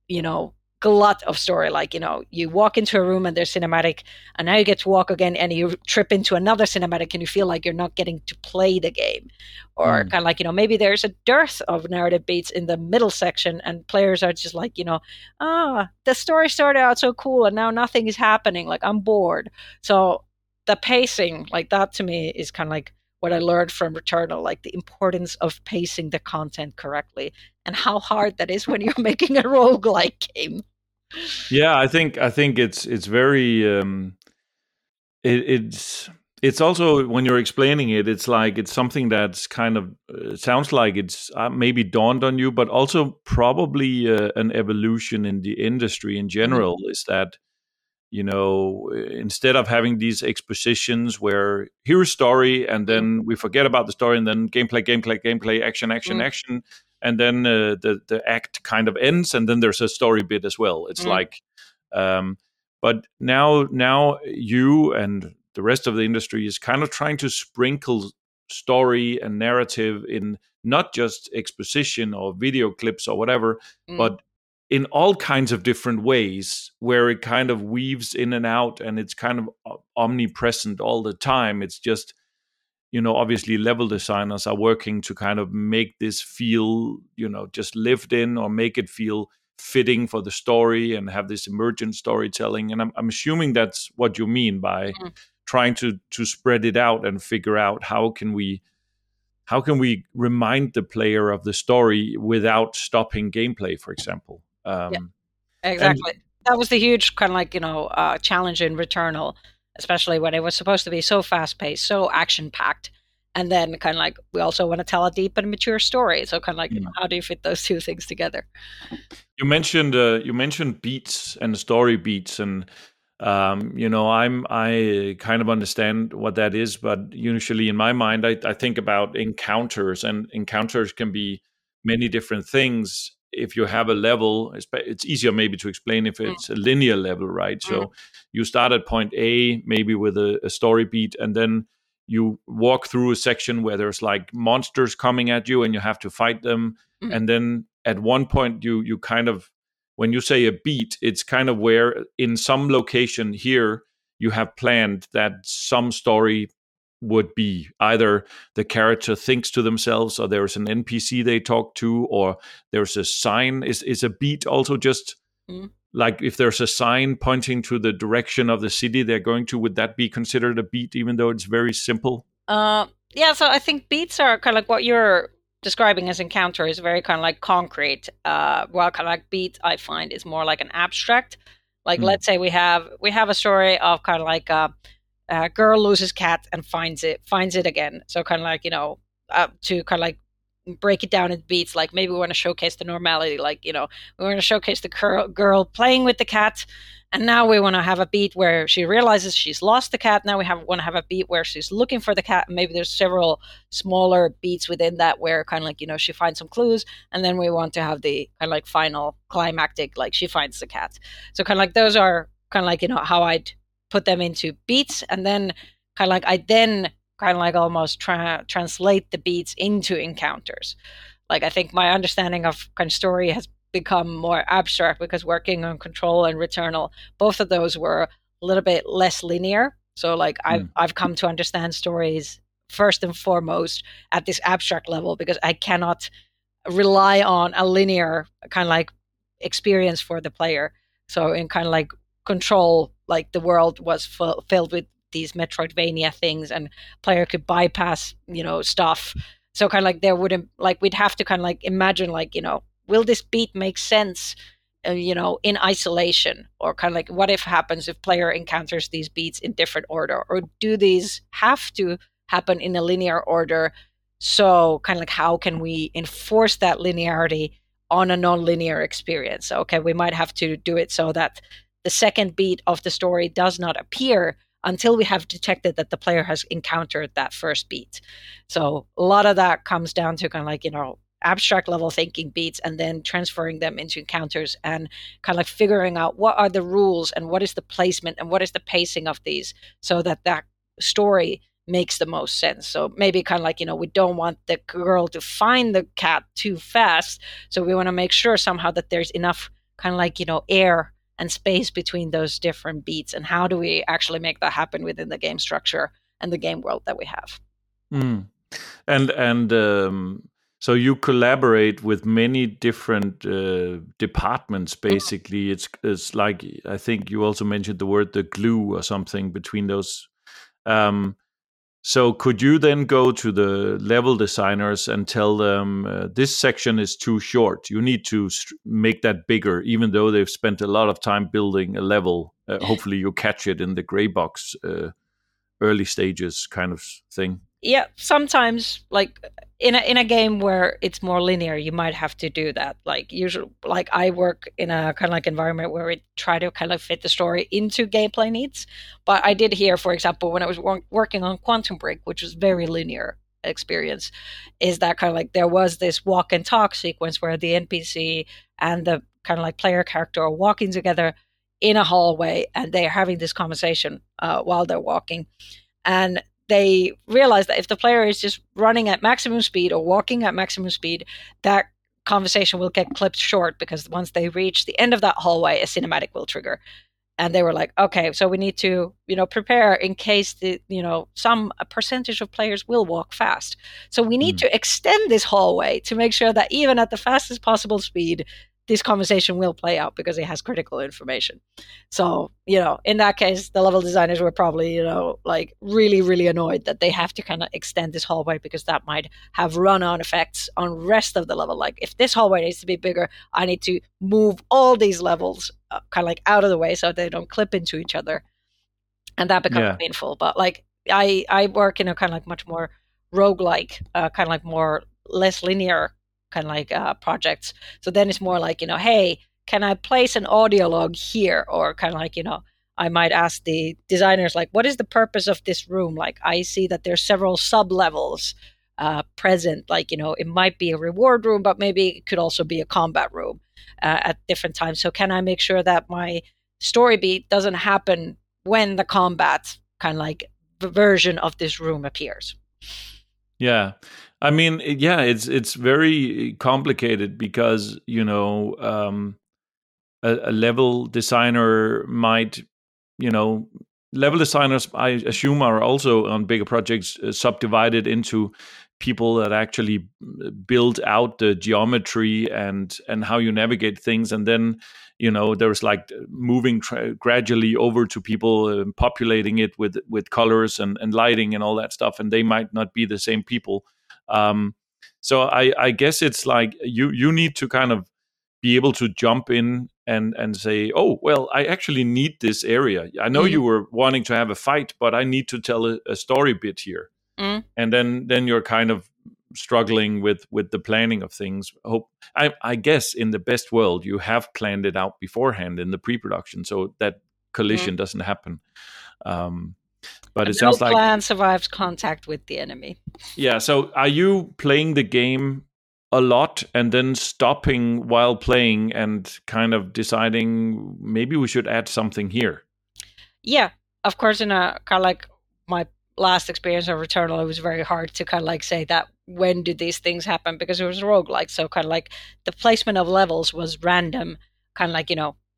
glut of story. Like you walk into a room and there's cinematic, and now you get to walk again and you trip into another cinematic and you feel like you're not getting to play the game. Or kind of like maybe there's a dearth of narrative beats in the middle section and players are just like the story started out so cool and now nothing is happening, like I'm bored. So the pacing, like that to me is kind of like what I learned from Returnal, like the importance of pacing the content correctly and how hard that is when you're making a roguelike game. Yeah, I think it's very it's also, when you're explaining it, it's like it's something that's kind of sounds like it's maybe dawned on you, but also probably an evolution in the industry in general. Is that instead of having these expositions where here's story and then we forget about the story and then gameplay, action, and then the act kind of ends and then there's a story bit as well. It's like, but now you and the rest of the industry is kind of trying to sprinkle story and narrative in not just exposition or video clips or whatever, but in all kinds of different ways, where it kind of weaves in and out and it's kind of omnipresent all the time. It's just, obviously level designers are working to kind of make this feel, just lived in, or make it feel fitting for the story and have this emergent storytelling. And I'm assuming that's what you mean by trying to spread it out and figure out how can we remind the player of the story without stopping gameplay, for example. Yeah, exactly. That was the huge kind of like, challenge in Returnal, especially when it was supposed to be so fast paced, so action packed. And then kind of like, we also want to tell a deep and mature story. So kind of like, how do you fit those two things together? You mentioned beats and story beats, and I kind of understand what that is, but usually in my mind, I think about encounters, and encounters can be many different things. If you have a level, it's easier maybe to explain if it's a linear level, right? So you start at point A, maybe with a story beat, and then you walk through a section where there's like monsters coming at you and you have to fight them. And then at one point you kind of, when you say a beat, it's kind of where in some location here you have planned that some story would be. Either the character thinks to themselves, or there's an NPC they talk to, or there's a sign. Is a beat also just like if there's a sign pointing to the direction of the city they're going to, would that be considered a beat, even though it's very simple? Yeah, so I think beats are kind of like what you're describing as encounter is very kind of like concrete. While kind of like beat, I find, is more like an abstract. Like let's say we have a story of kind of like a girl loses cat and finds it again. So kind of like, to kind of like break it down in beats, like maybe we want to showcase the normality, like, we want to showcase the girl playing with the cat, and now we want to have a beat where she realizes she's lost the cat. Now we want to have a beat where she's looking for the cat, and maybe there's several smaller beats within that where kind of like, she finds some clues, and then we want to have the kind of like final climactic, like she finds the cat. So kind of like those are kind of like, how I'd put them into beats, and then kind of like I then kind of like almost translate the beats into encounters. Like I think my understanding of kind of story has become more abstract because working on Control and Returnal, both of those were a little bit less linear. So like I've come to understand stories first and foremost at this abstract level, because I cannot rely on a linear kind of like experience for the player. So in kind of like Control, like the world was filled with these Metroidvania things, and player could bypass, stuff. So kind of like there wouldn't, like we'd have to kind of like imagine, like, will this beat make sense, in isolation? Or kind of like, what if happens if player encounters these beats in different order? Or do these have to happen in a linear order? So kind of like, how can we enforce that linearity on a non-linear experience? So, okay, we might have to do it so that the second beat of the story does not appear until we have detected that the player has encountered that first beat. So a lot of that comes down to kind of like, abstract level thinking beats, and then transferring them into encounters, and kind of like figuring out what are the rules and what is the placement and what is the pacing of these, so that that story makes the most sense. So maybe kind of like, we don't want the girl to find the cat too fast. So we want to make sure somehow that there's enough kind of like, air and space between those different beats. And how do we actually make that happen within the game structure and the game world that we have? So you collaborate with many different departments, basically. It's like, I think you also mentioned the word the glue or something between those. So could you then go to the level designers and tell them this section is too short? You need to make that bigger, even though they've spent a lot of time building a level. Hopefully you catch it in the gray box early stages kind of thing. Yeah, sometimes like in a game where it's more linear, you might have to do that. Like usually, like I work in a kind of like environment where we try to kind of fit the story into gameplay needs. But I did hear, for example, when I was working on Quantum Break, which was very linear experience, is that kind of like there was this walk and talk sequence where the NPC and the kind of like player character are walking together in a hallway, and they're having this conversation while they're walking. And they realize that if the player is just running at maximum speed or walking at maximum speed, that conversation will get clipped short, because once they reach the end of that hallway, a cinematic will trigger. And they were like, okay, so we need to, prepare in case some percentage of players will walk fast. So we need to extend this hallway to make sure that even at the fastest possible speed, this conversation will play out, because it has critical information. So, in that case, the level designers were probably, like really, really annoyed that they have to kind of extend this hallway, because that might have run-on effects on rest of the level. Like if this hallway needs to be bigger, I need to move all these levels kind of like out of the way so they don't clip into each other. And that becomes painful. But like I work in a kind of like much more roguelike, kind of like more less linear kind of like projects. So then it's more like, hey, can I place an audio log here? Or kind of like, I might ask the designers, like, what is the purpose of this room? Like, I see that there's several sub levels present. Like, it might be a reward room, but maybe it could also be a combat room at different times. So can I make sure that my story beat doesn't happen when the combat kind of like version of this room appears? Yeah. I mean, it's very complicated because, a level designer might, level designers, I assume, are also on bigger projects subdivided into people that actually build out the geometry and how you navigate things, and then there's like moving gradually over to people populating it with colors and lighting and all that stuff, and they might not be the same people. So I guess it's like you need to kind of be able to jump in and say, oh, well, I actually need this area. I know you were wanting to have a fight, but I need to tell a story bit here. And then you're kind of struggling with the planning of things. I guess in the best world, you have planned it out beforehand in the pre-production so that collision doesn't happen. But it sounds like no plan survives contact with the enemy. Yeah. So are you playing the game a lot and then stopping while playing and kind of deciding maybe we should add something here? Yeah, of course. In a kind of like my last experience of Returnal, it was very hard to kind of like say that when did these things happen, because it was roguelike. So kind of like the placement of levels was random, kind of like,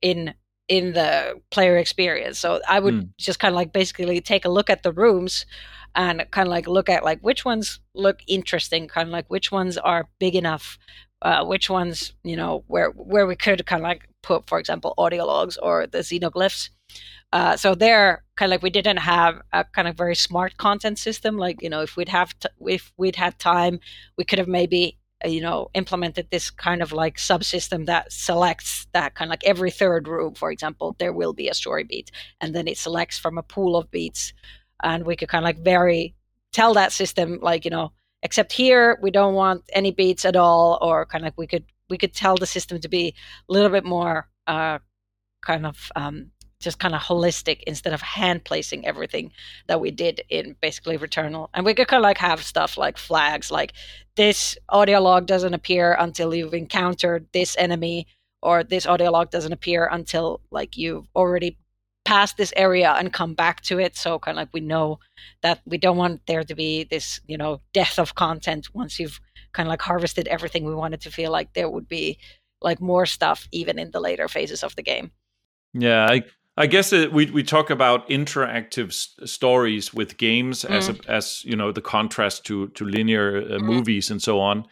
in the player experience. So I would just kind of like basically take a look at the rooms and kind of like look at like which ones look interesting, kind of like which ones are big enough, which ones, where we could kind of like put, for example, audio logs or the xenoglyphs. So there, kind of like we didn't have a kind of very smart content system. Like, if we'd had time, we could have maybe implemented this kind of like subsystem that selects that kind of like every third room, for example, there will be a story beat, and then it selects from a pool of beats, and we could kind of like tell that system like, except here we don't want any beats at all, or kind of like we could tell the system to be a little bit more kind of just kind of holistic instead of hand placing everything that we did in basically Returnal. And we could kind of like have stuff like flags, like this audio log doesn't appear until you've encountered this enemy, or this audio log doesn't appear until like you've already passed this area and come back to it. So kind of like we know that we don't want there to be this, death of content once you've kind of like harvested everything. We wanted to feel like there would be like more stuff even in the later phases of the game. Yeah, I guess we talk about interactive stories with games as the contrast to linear movies and so on.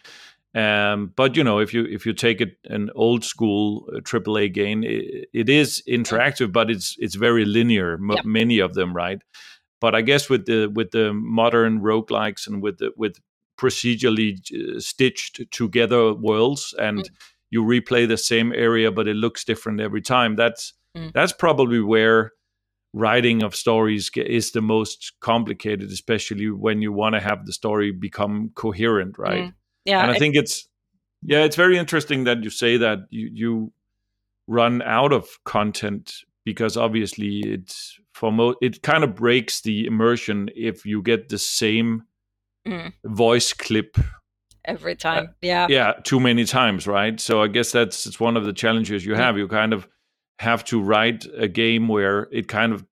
But if you take an old school AAA game, it is interactive, but it's very linear. Many of them, right? But I guess with the modern roguelikes and with procedurally stitched together worlds, and you replay the same area, but it looks different every time. That's probably where writing of stories is the most complicated, especially when you want to have the story become coherent, right? Yeah, and I think it's very interesting that you say that you run out of content, because obviously it kind of breaks the immersion if you get the same voice clip every time. Too many times, right? So I guess it's one of the challenges you have. You kind of have to write a game where it kind of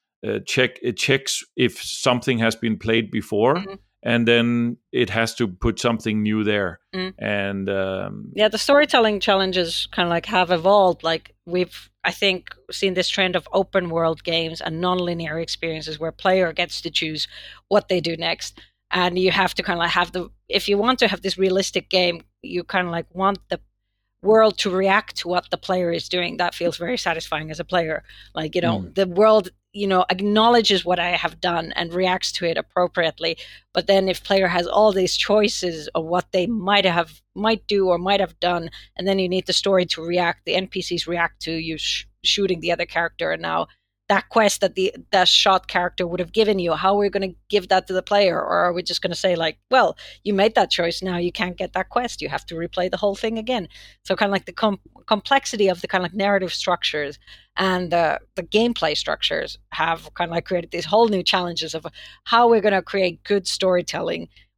checks if something has been played before, and then it has to put something new there. And the storytelling challenges kind of like have evolved. Like we've, I think, seen this trend of open world games and non-linear experiences where player gets to choose what they do next. And you have to kind of like have if you want to have this realistic game, you kind of like want the world to react to what the player is doing. That feels very satisfying as a player. Like, the world, acknowledges what I have done and reacts to it appropriately. But then if player has all these choices of what they might do or might have done, and then you need the story to react, the NPCs react to you shooting the other character, and now that quest that that shot character would have given you, how are we going to give that to the player? Or are we just going to say like, well, you made that choice, now you can't get that quest, you have to replay the whole thing again? So kind of like the complexity of the kind of like narrative structures and the gameplay structures have kind of like created these whole new challenges of how we're going to create good storytelling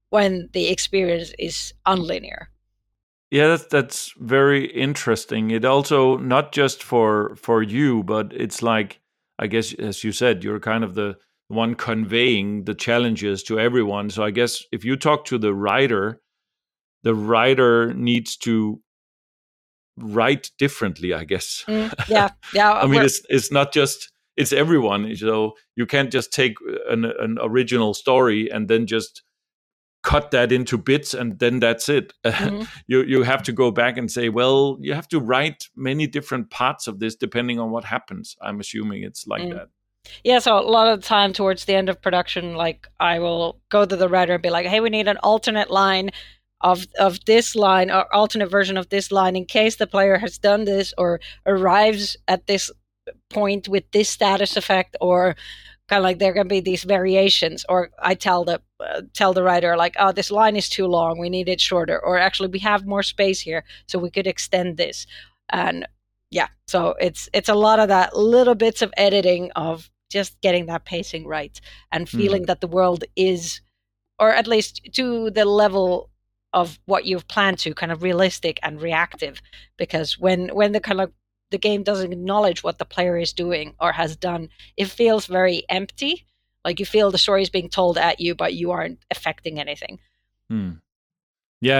when the experience is unlinear. Yeah, that's very interesting. It also not just for you, but it's like, I guess, as you said, you're kind of the one conveying the challenges to everyone. So I guess if you talk to the writer needs to write differently, I guess. Yeah, I yeah. mean, it's not just, it's everyone. So you can't just take an original story and then just cut that into bits and then that's it. Mhm. You have to go back and say, well, you have to write many different parts of this depending on what happens. I'm assuming it's like Mm. that. Yeah, so a lot of the time towards the end of production, like I will go to the writer and be like, "Hey, we need an alternate line of this line or alternate version of this line in case the player has done this or arrives at this point with this status effect or kind of like there can be these variations." Or I tell the writer like, "Oh, this line is too long, we need it shorter," or actually we have more space here so we could extend this. And yeah, so it's a lot of that little bits of editing of just getting that pacing right and Hmm. feeling that the world is, or at least to the level of what you've planned to, kind of realistic and reactive. Because when the kind of the game doesn't acknowledge what the player is doing or has done, it feels very empty. Like you feel the story is being told at you, but you aren't affecting anything. Hmm. Yeah,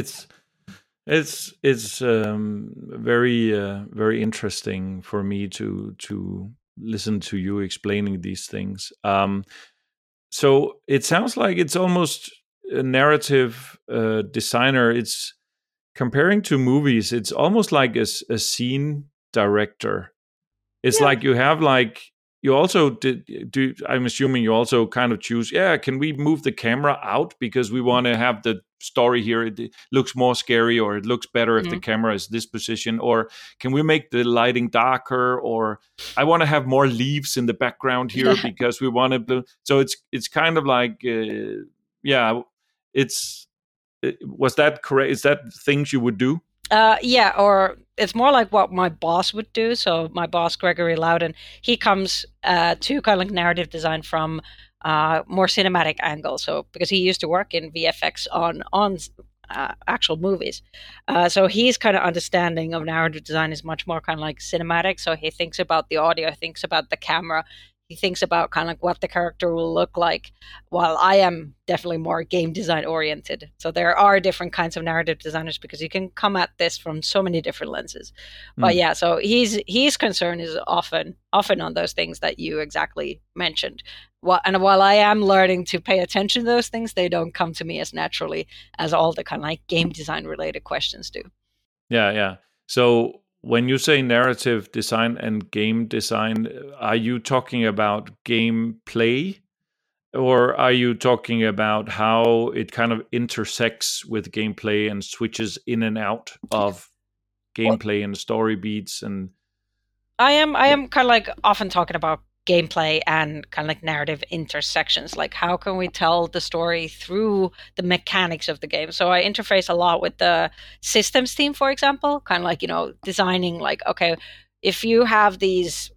it's very very interesting for me to listen to you explaining these things. So it sounds like it's almost a narrative designer. It's comparing to movies. It's almost like a scene director. It's Yeah. like you have like you also do. I'm assuming you also kind of choose. Yeah, can we move the camera out because we want to have the story here? It looks more scary, or it looks better if the Mhm. camera is this position, or can we make the lighting darker? Or I want to have more leaves in the background here because we want to. So it's kind of like yeah, it's was that correct? Is that things you would do? Yeah, or it's more like what my boss would do. So my boss, Gregory Loudon, he comes to kind of like narrative design from more cinematic angle. So because he used to work in VFX on actual movies, so he's kind of understanding of narrative design is much more kind of like cinematic. So he thinks about the audio, thinks about the camera, he thinks about kind of like what the character will look like, while I am definitely more game design oriented. So there are different kinds of narrative designers because you can come at this from so many different lenses. But Hmm. yeah, so his concern is often on those things that you exactly mentioned. And while I am learning to pay attention to those things, they don't come to me as naturally as all the kind of like game design related questions do. Yeah, yeah. So when you say narrative design and game design, are you talking about gameplay or are you talking about how it kind of intersects with gameplay and switches in and out of Well, gameplay and story beats and I am kind of like often talking about gameplay and kind of like narrative intersections. Like how can we tell the story through the mechanics of the game? So I interface a lot with the systems team, for example, kind of like, designing like, okay, if you have these,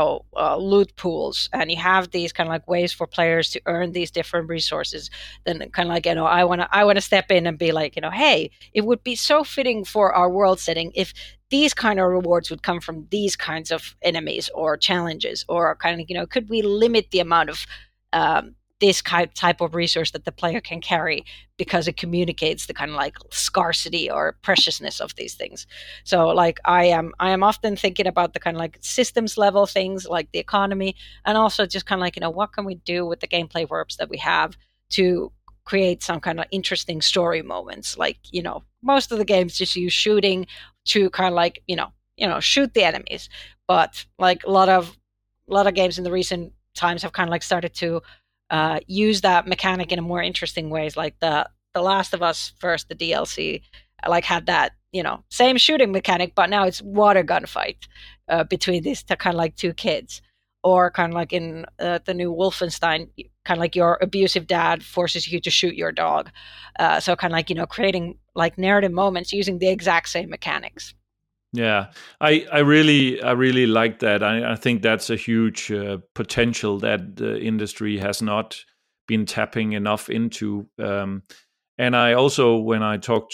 loot pools and you have these kind of like ways for players to earn these different resources, then kind of like, I want to step in and be like, hey, it would be so fitting for our world setting if these kind of rewards would come from these kinds of enemies or challenges, or kind of, could we limit the amount of this type of resource that the player can carry because it communicates the kind of like scarcity or preciousness of these things. So like I am often thinking about the kind of like systems level things like the economy, and also just kind of like, what can we do with the gameplay verbs that we have to create some kind of interesting story moments. Like, most of the games just use shooting to kind of like, shoot the enemies. But like a lot of games in the recent times have kind of like started to use that mechanic in a more interesting ways. Like the Last of Us first, the DLC, like had that, same shooting mechanic, but now it's water gun fight between these kind of like two kids. Or kind of like in the new Wolfenstein, kind of like your abusive dad forces you to shoot your dog. So kind of like, creating like narrative moments using the exact same mechanics. yeah, I really like that. I think that's a huge potential that the industry has not been tapping enough into. And I also, when I talk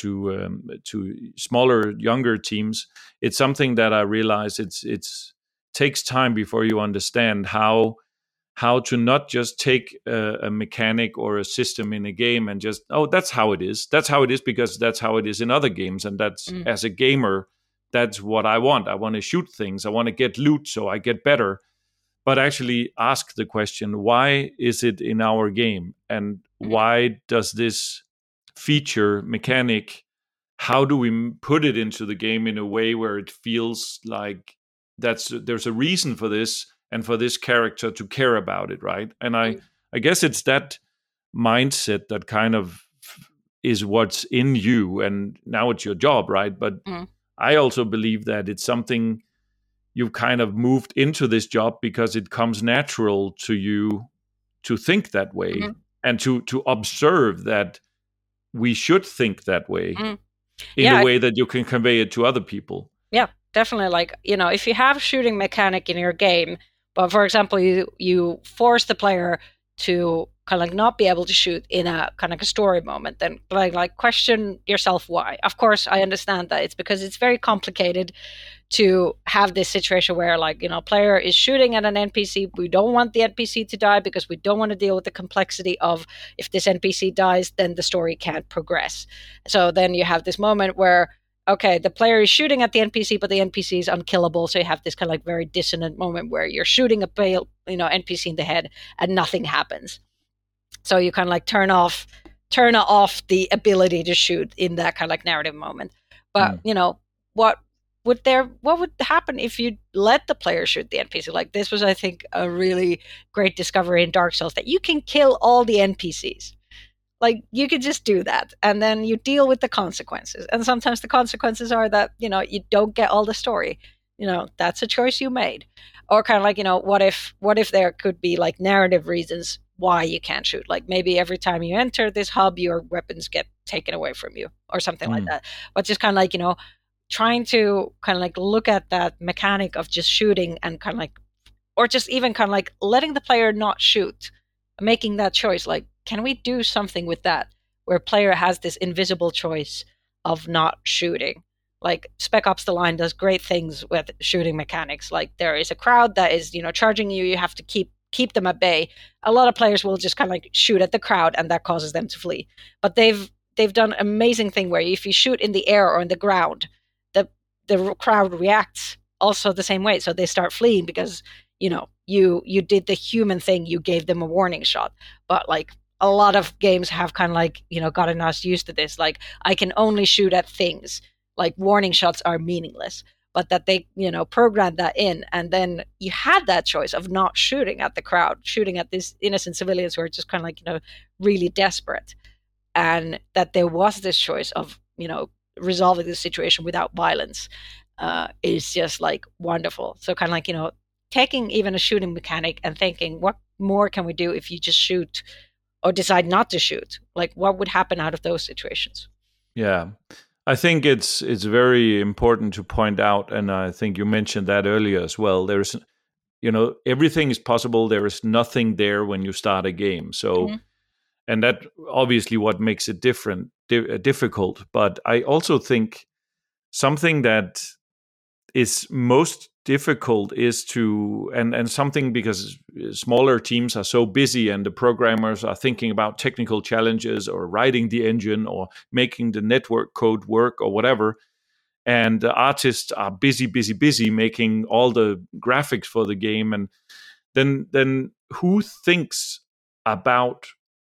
to smaller, younger teams, it's something that I realize it's takes time before you understand how to not just take a mechanic or a system in a game and just, oh, that's how it is. That's how it is because that's how it is in other games. And that's, as a gamer, that's what I want. I want to shoot things. I want to get loot so I get better. But actually ask the question, why is it in our game? And why does this feature, mechanic, how do we put it into the game in a way where it feels like there's a reason for this and for this character to care about it, right? And I guess it's that mindset that kind of is what's in you, and now it's your job, right? But I also believe that it's something you've kind of moved into this job because it comes natural to you to think that way and to observe that we should think that way in a way that you can convey it to other people. Yeah, definitely. Like, if you have shooting mechanic in your game, but for example, you force the player to kind of like not be able to shoot in a kind of a story moment, then like question yourself why. Of course, I understand that it's because it's very complicated to have this situation where player is shooting at an NPC. We don't want the NPC to die because we don't want to deal with the complexity of if this NPC dies, then the story can't progress. So then you have this moment where, okay, the player is shooting at the NPC, but the NPC is unkillable. So you have this kind of like very dissonant moment where you're shooting a pale, NPC in the head and nothing happens. So you kind of like turn off the ability to shoot in that kind of like narrative moment. But what would happen if you let the player shoot the NPC? Like, this was, I think, a really great discovery in Dark Souls, that you can kill all the NPCs. Like, you could just do that, and then you deal with the consequences. And sometimes the consequences are that, you don't get all the story. That's a choice you made. Or kind of like, what if there could be like narrative reasons why you can't shoot? Like, maybe every time you enter this hub, your weapons get taken away from you or something like that. But just kind of like, trying to kind of like look at that mechanic of just shooting and kind of like, or just even kind of like letting the player not shoot, making that choice. Like, can we do something with that where player has this invisible choice of not shooting? Like, Spec Ops: The Line does great things with shooting mechanics. Like, there is a crowd that is, charging you. You have to keep them at bay. A lot of players will just kind of like shoot at the crowd, and that causes them to flee. But they've done an amazing thing where if you shoot in the air or in the ground, the crowd reacts also the same way. So they start fleeing because, you did the human thing. You gave them a warning shot. But like, a lot of games have kind of like, gotten us used to this. Like, I can only shoot at things. Like, warning shots are meaningless. But that they, programmed that in. And then you had that choice of not shooting at the crowd, shooting at these innocent civilians who are just kind of like, really desperate. And that there was this choice of, resolving the situation without violence is just like wonderful. So kind of like, taking even a shooting mechanic and thinking, what more can we do if you just shoot or decide not to shoot? Like, what would happen out of those situations? Yeah, I think it's very important to point out, and I think you mentioned that earlier as well. There's, everything is possible. There is nothing there when you start a game. So, and that obviously what makes it difficult. But I also think something that is most difficult is to, and something because smaller teams are so busy and the programmers are thinking about technical challenges or writing the engine or making the network code work or whatever. And the artists are busy making all the graphics for the game. And then who thinks about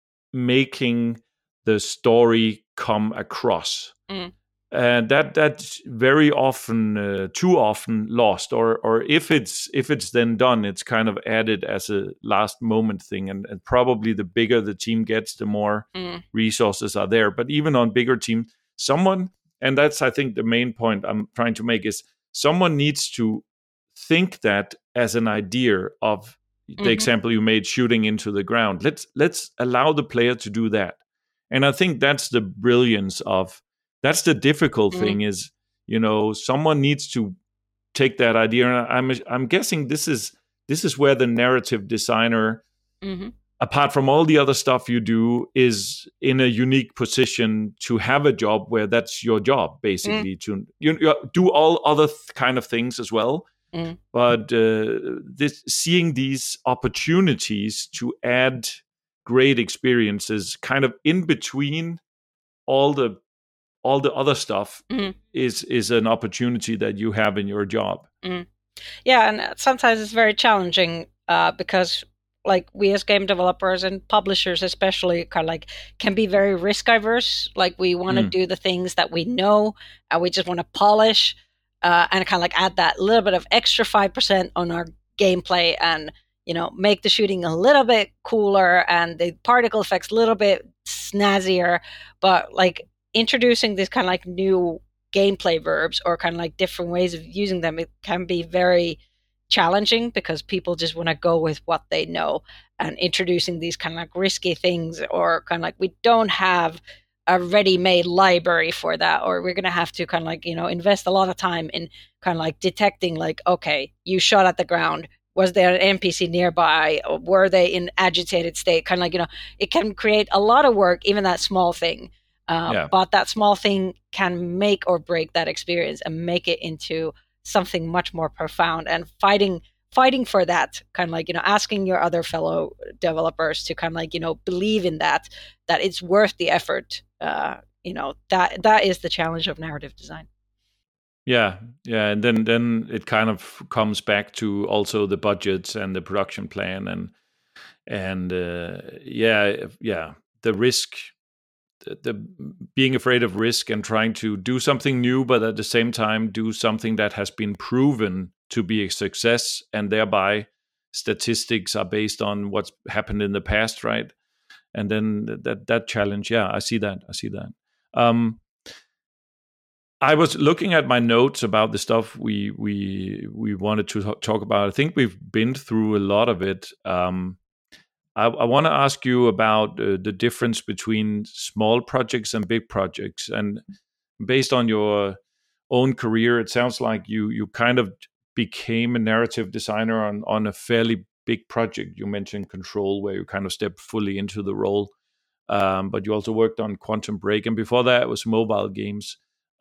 making the story come across? And that's very often, too often, lost. Or if it's then done, it's kind of added as a last moment thing. And probably the bigger the team gets, the more resources are there. But even on bigger teams, and that's, I think, the main point I'm trying to make is someone needs to think that as an idea of the example you made, shooting into the ground. Let's allow the player to do that. And I think that's the brilliance of. That's the difficult thing is, someone needs to take that idea. And I'm guessing this is where the narrative designer apart from all the other stuff you do, is in a unique position to have a job where that's your job, basically. To you do all other kind of things as well, but seeing these opportunities to add great experiences, kind of in between all the other stuff, is an opportunity that you have in your job. Yeah, and sometimes it's very challenging because like we as game developers and publishers especially kind of like can be very risk averse. Like we want to do the things that we know and we just want to polish and kind of like add that little bit of extra 5% on our gameplay and make the shooting a little bit cooler and the particle effects a little bit snazzier, but like introducing this kind of like new gameplay verbs or kind of like different ways of using them, it can be very challenging because people just want to go with what they know, and introducing these kind of like risky things or kind of like we don't have a ready-made library for that, or we're going to have to kind of like invest a lot of time in kind of like detecting like, okay, you shot at the ground, was there an NPC nearby, or were they in agitated state, kind of like it can create a lot of work, even that small thing. But that small thing can make or break that experience and make it into something much more profound. And fighting for that, kind of like asking your other fellow developers to kind of like believe in that it's worth the effort. That is the challenge of narrative design. Yeah, and then it kind of comes back to also the budgets and the production plan and the risk, the being afraid of risk and trying to do something new, but at the same time do something that has been proven to be a success, and thereby statistics are based on what's happened in the past, right? And then that challenge, I see that. I was looking at my notes about the stuff we wanted to talk about. I think we've been through a lot of it. I want to ask you about the difference between small projects and big projects. And based on your own career, it sounds like you kind of became a narrative designer on a fairly big project. You mentioned Control, where you kind of stepped fully into the role. But you also worked on Quantum Break, and before that it was mobile games.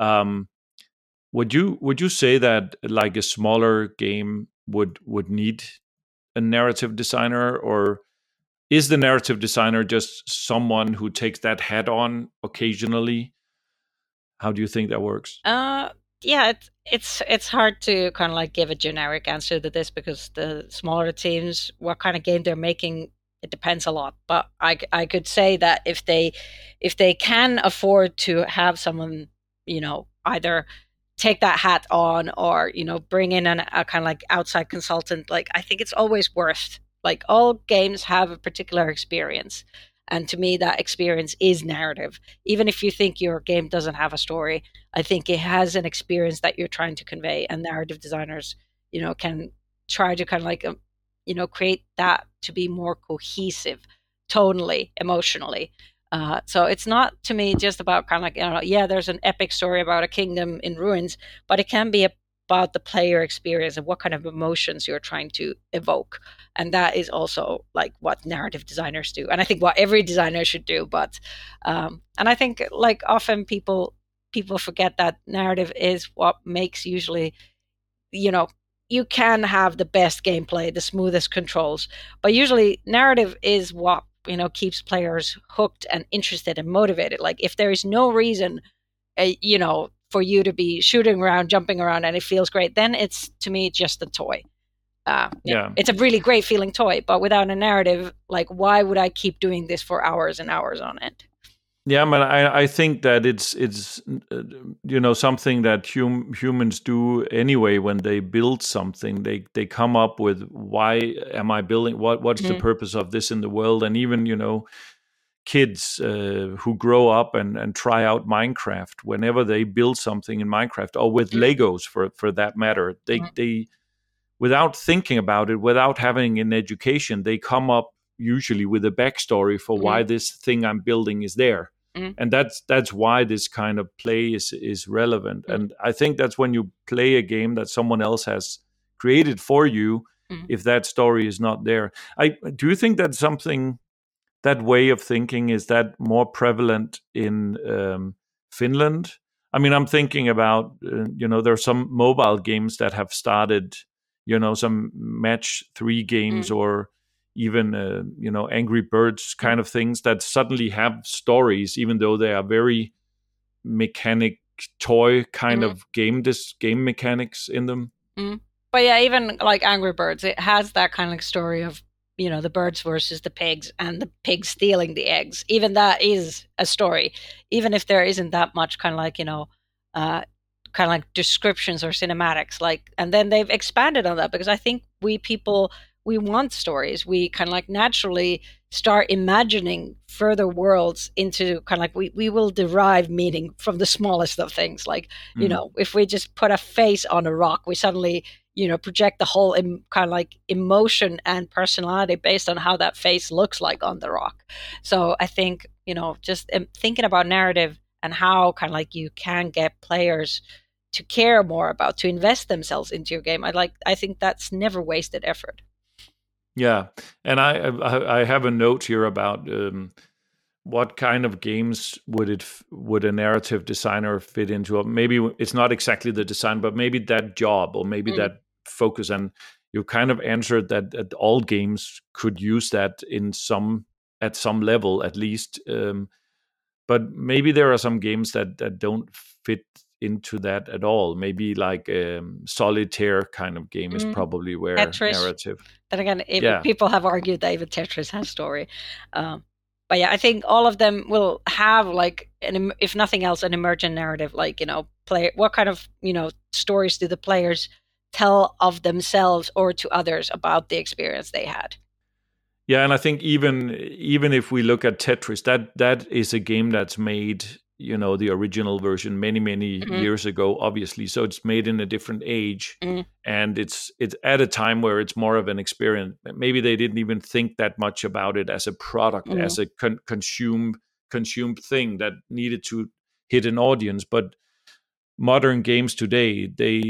Would you say that like a smaller game would need a narrative designer, or is the narrative designer just someone who takes that hat on occasionally? How do you think that works? Yeah, it's hard to kind of like give a generic answer to this because the smaller teams, what kind of game they're making, it depends a lot. But I could say that if they can afford to have someone either take that hat on or bring in a kind of like outside consultant, like I think it's always worth, like all games have a particular experience, and to me that experience is narrative. Even if you think your game doesn't have a story, I think it has an experience that you're trying to convey, and narrative designers can try to kind of like create that to be more cohesive tonally, emotionally. So it's not, to me, just about kind of like, there's an epic story about a kingdom in ruins, but it can be about the player experience and what kind of emotions you're trying to evoke. And that is also like what narrative designers do. And I think what every designer should do. But, and I think like often people forget that narrative is what makes usually, you can have the best gameplay, the smoothest controls, but usually narrative is what keeps players hooked and interested and motivated. Like if there is no reason for you to be shooting around, jumping around, and it feels great, then it's, to me, just a toy. It's a really great feeling toy, but without a narrative, like why would I keep doing this for hours and hours on end? Yeah, but I think that it's something that humans do anyway. When they build something, they come up with, why am I building? What's the purpose of this in the world? And even kids who grow up and try out Minecraft, whenever they build something in Minecraft, or with Legos for that matter, they without thinking about it, without having an education, they come up usually with a backstory for why this thing I'm building is there. And that's why this kind of play is relevant. And I think that's when you play a game that someone else has created for you, if that story is not there. Do you think that's something that way of thinking, is that more prevalent in Finland? I mean, I'm thinking about there are some mobile games that have started, some match 3 games, or even Angry Birds kind of things that suddenly have stories, even though they are very mechanic toy kind of game mechanics in them. But yeah, even like Angry Birds, it has that kind of story of the birds versus the pigs, and the pigs stealing the eggs. Even that is a story, even if there isn't that much kind of like kind of like descriptions or cinematics. Like, and then they've expanded on that, because I think we people, we want stories. We kind of like naturally start imagining further worlds into kind of like we will derive meaning from the smallest of things. Like, if we just put a face on a rock, we suddenly project the whole kind of like emotion and personality based on how that face looks like on the rock. So I think just thinking about narrative and how kind of like you can get players to care more about, to invest themselves into your game. I think that's never wasted effort. Yeah, and I have a note here about what kind of games would a narrative designer fit into? Maybe it's not exactly the design, but maybe that job, or maybe that focus. And you kind of answered that all games could use that at some level at least. But maybe there are some games that don't fit into that at all. Maybe like solitaire kind of game is probably where Tetris. Narrative. Then again, people have argued that even Tetris has story. But yeah, I think all of them will have like if nothing else, an emergent narrative. Like what kind of stories do the players tell of themselves or to others about the experience they had? Yeah, and I think even if we look at Tetris, that is a game that's made, the original version many years ago, obviously. So it's made in a different age, and it's at a time where it's more of an experience. Maybe they didn't even think that much about it as a product, as a consumed thing that needed to hit an audience. But modern games today,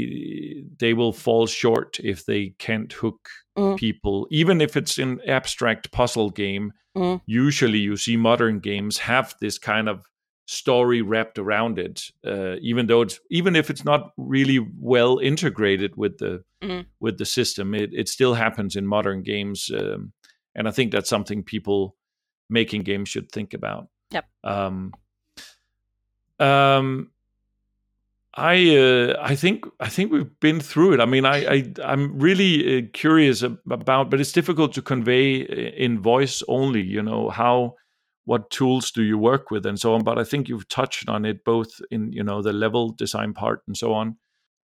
they will fall short if they can't hook people, even if it's an abstract puzzle game. Usually you see modern games have this kind of story wrapped around it, even if it's not really well integrated with the system. It still happens in modern games, and I think that's something people making games should think about. Yep. I think we've been through it. I mean, I'm really curious about, but it's difficult to convey in voice only. What tools do you work with and so on. But I think you've touched on it both in the level design part and so on.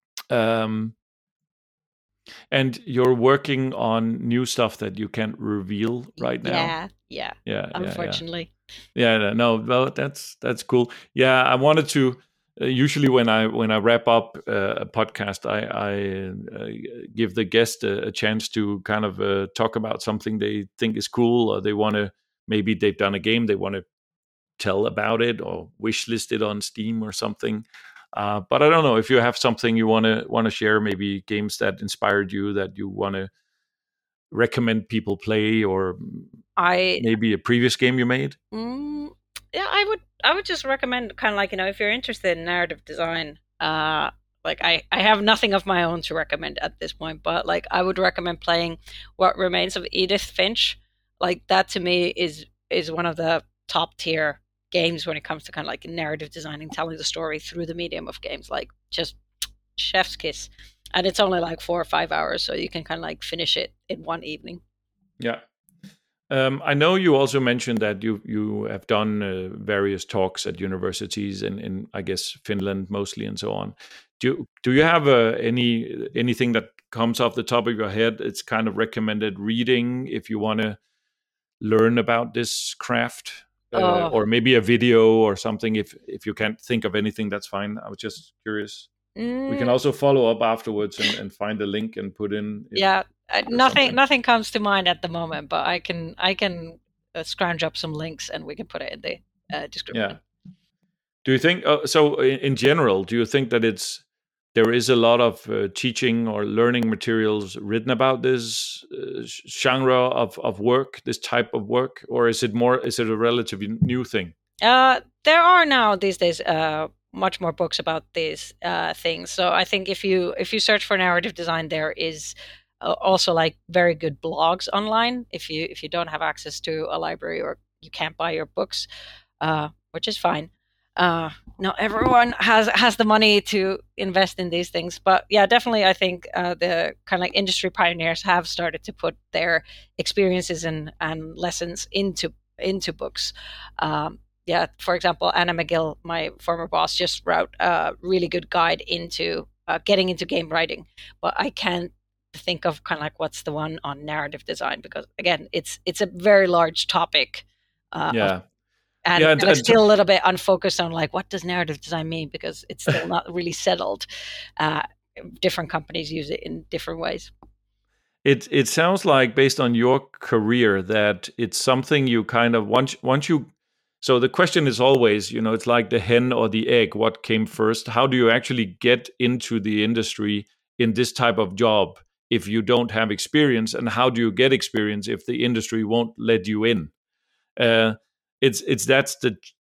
And you're working on new stuff that you can't reveal right now. Yeah. Unfortunately. Yeah. No. Well, that's cool. Yeah, I wanted to. Usually, when I wrap up a podcast, I give the guest a chance to kind of talk about something they think is cool, or maybe they've done a game they want to tell about it, or wish list it on Steam or something. But I don't know if you have something you want to share, maybe games that inspired you that you want to recommend people play, or maybe a previous game you made. Yeah, I would just recommend kind of like, if you're interested in narrative design, like I have nothing of my own to recommend at this point, but like I would recommend playing What Remains of Edith Finch. Like that to me is one of the top tier games when it comes to kind of like narrative designing, telling the story through the medium of games. Like just chef's kiss. And it's only like 4 or 5 hours, so you can kind of like finish it in one evening. Yeah. I know you also mentioned that you have done various talks at universities in I guess Finland mostly and so on. Do you have anything that comes off the top of your head? It's kind of recommended reading if you want to learn about this craft, or maybe a video or something. If you can't think of anything, that's fine. I was just curious. We can also follow up afterwards and find a link and put in. Nothing comes to mind at the moment, but I can scrounge up some links and we can put it in the description. Yeah. Do you think so? In general, do you think that it's there is a lot of teaching or learning materials written about this genre of work, this type of work, or is it a relatively new thing? There are now these days much more books about these things. So I think if you search for narrative design, there is also like very good blogs online. If you don't have access to a library or you can't buy your books, which is fine. Not everyone has the money to invest in these things, but yeah, definitely I think the kind of like industry pioneers have started to put their experiences and lessons into books. Yeah, for example, Anna McGill, my former boss, just wrote a really good guide into getting into game writing, but I can't think of kind of like what's the one on narrative design, because again, it's a very large topic. Yeah. And, Yeah, and it's still a little bit unfocused on like, what does narrative design mean? Because it's still not really settled. Different companies use it in different ways. It sounds like, based on your career, that it's something you kind of once you. So the question is always, it's like the hen or the egg. What came first? How do you actually get into the industry in this type of job if you don't have experience? And how do you get experience if the industry won't let you in? That's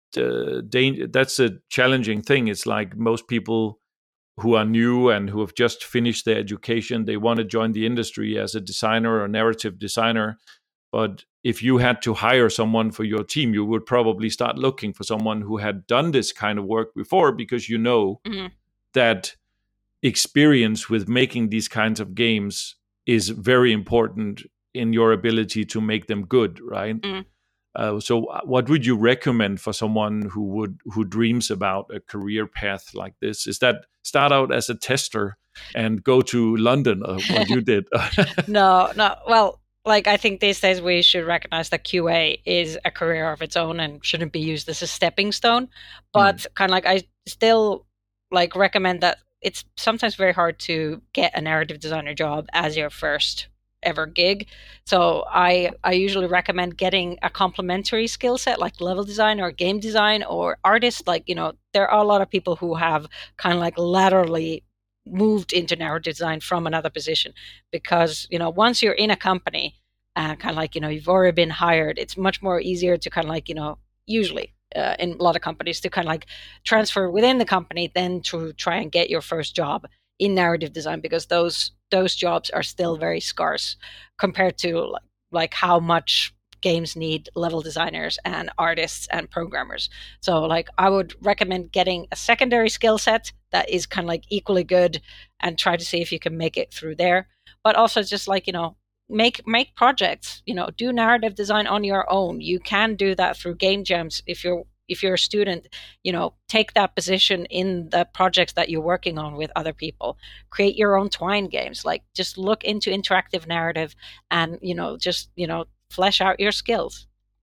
the challenging thing. It's like most people who are new and who have just finished their education, they want to join the industry as a designer or narrative designer. But if you had to hire someone for your team, you would probably start looking for someone who had done this kind of work before, because Mm-hmm. that experience with making these kinds of games is very important in your ability to make them good, right? Mm-hmm. So what would you recommend for someone who dreams about a career path like this? Is that start out as a tester and go to London, or what you did? No. Well, like I think these days we should recognize that QA is a career of its own and shouldn't be used as a stepping stone. But kind of like I still like recommend that it's sometimes very hard to get a narrative designer job as your first ever gig. So I usually recommend getting a complementary skill set like level design or game design or artist. Like, there are a lot of people who have kind of like laterally moved into narrative design from another position, because once you're in a company and kind of like you've already been hired, it's much more easier to kind of like usually in a lot of companies to kind of like transfer within the company than to try and get your first job in narrative design, because those jobs are still very scarce compared to like how much games need level designers and artists and programmers. So like I would recommend getting a secondary skill set that is kind of like equally good and try to see if you can make it through there. But also just like, make projects, do narrative design on your own. You can do that through game jams. If you're a student, take that position in the projects that you're working on with other people. Create your own Twine games. Like just look into interactive narrative and, just, flesh out your skills.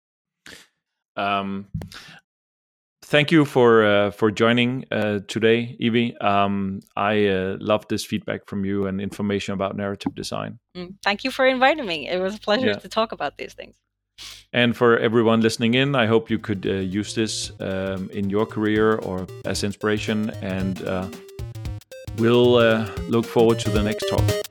Thank you for joining today, Evie. I love this feedback from you and information about narrative design. Thank you for inviting me. It was a pleasure to talk about these things. And for everyone listening in, I hope you could use this in your career or as inspiration. And we'll look forward to the next talk.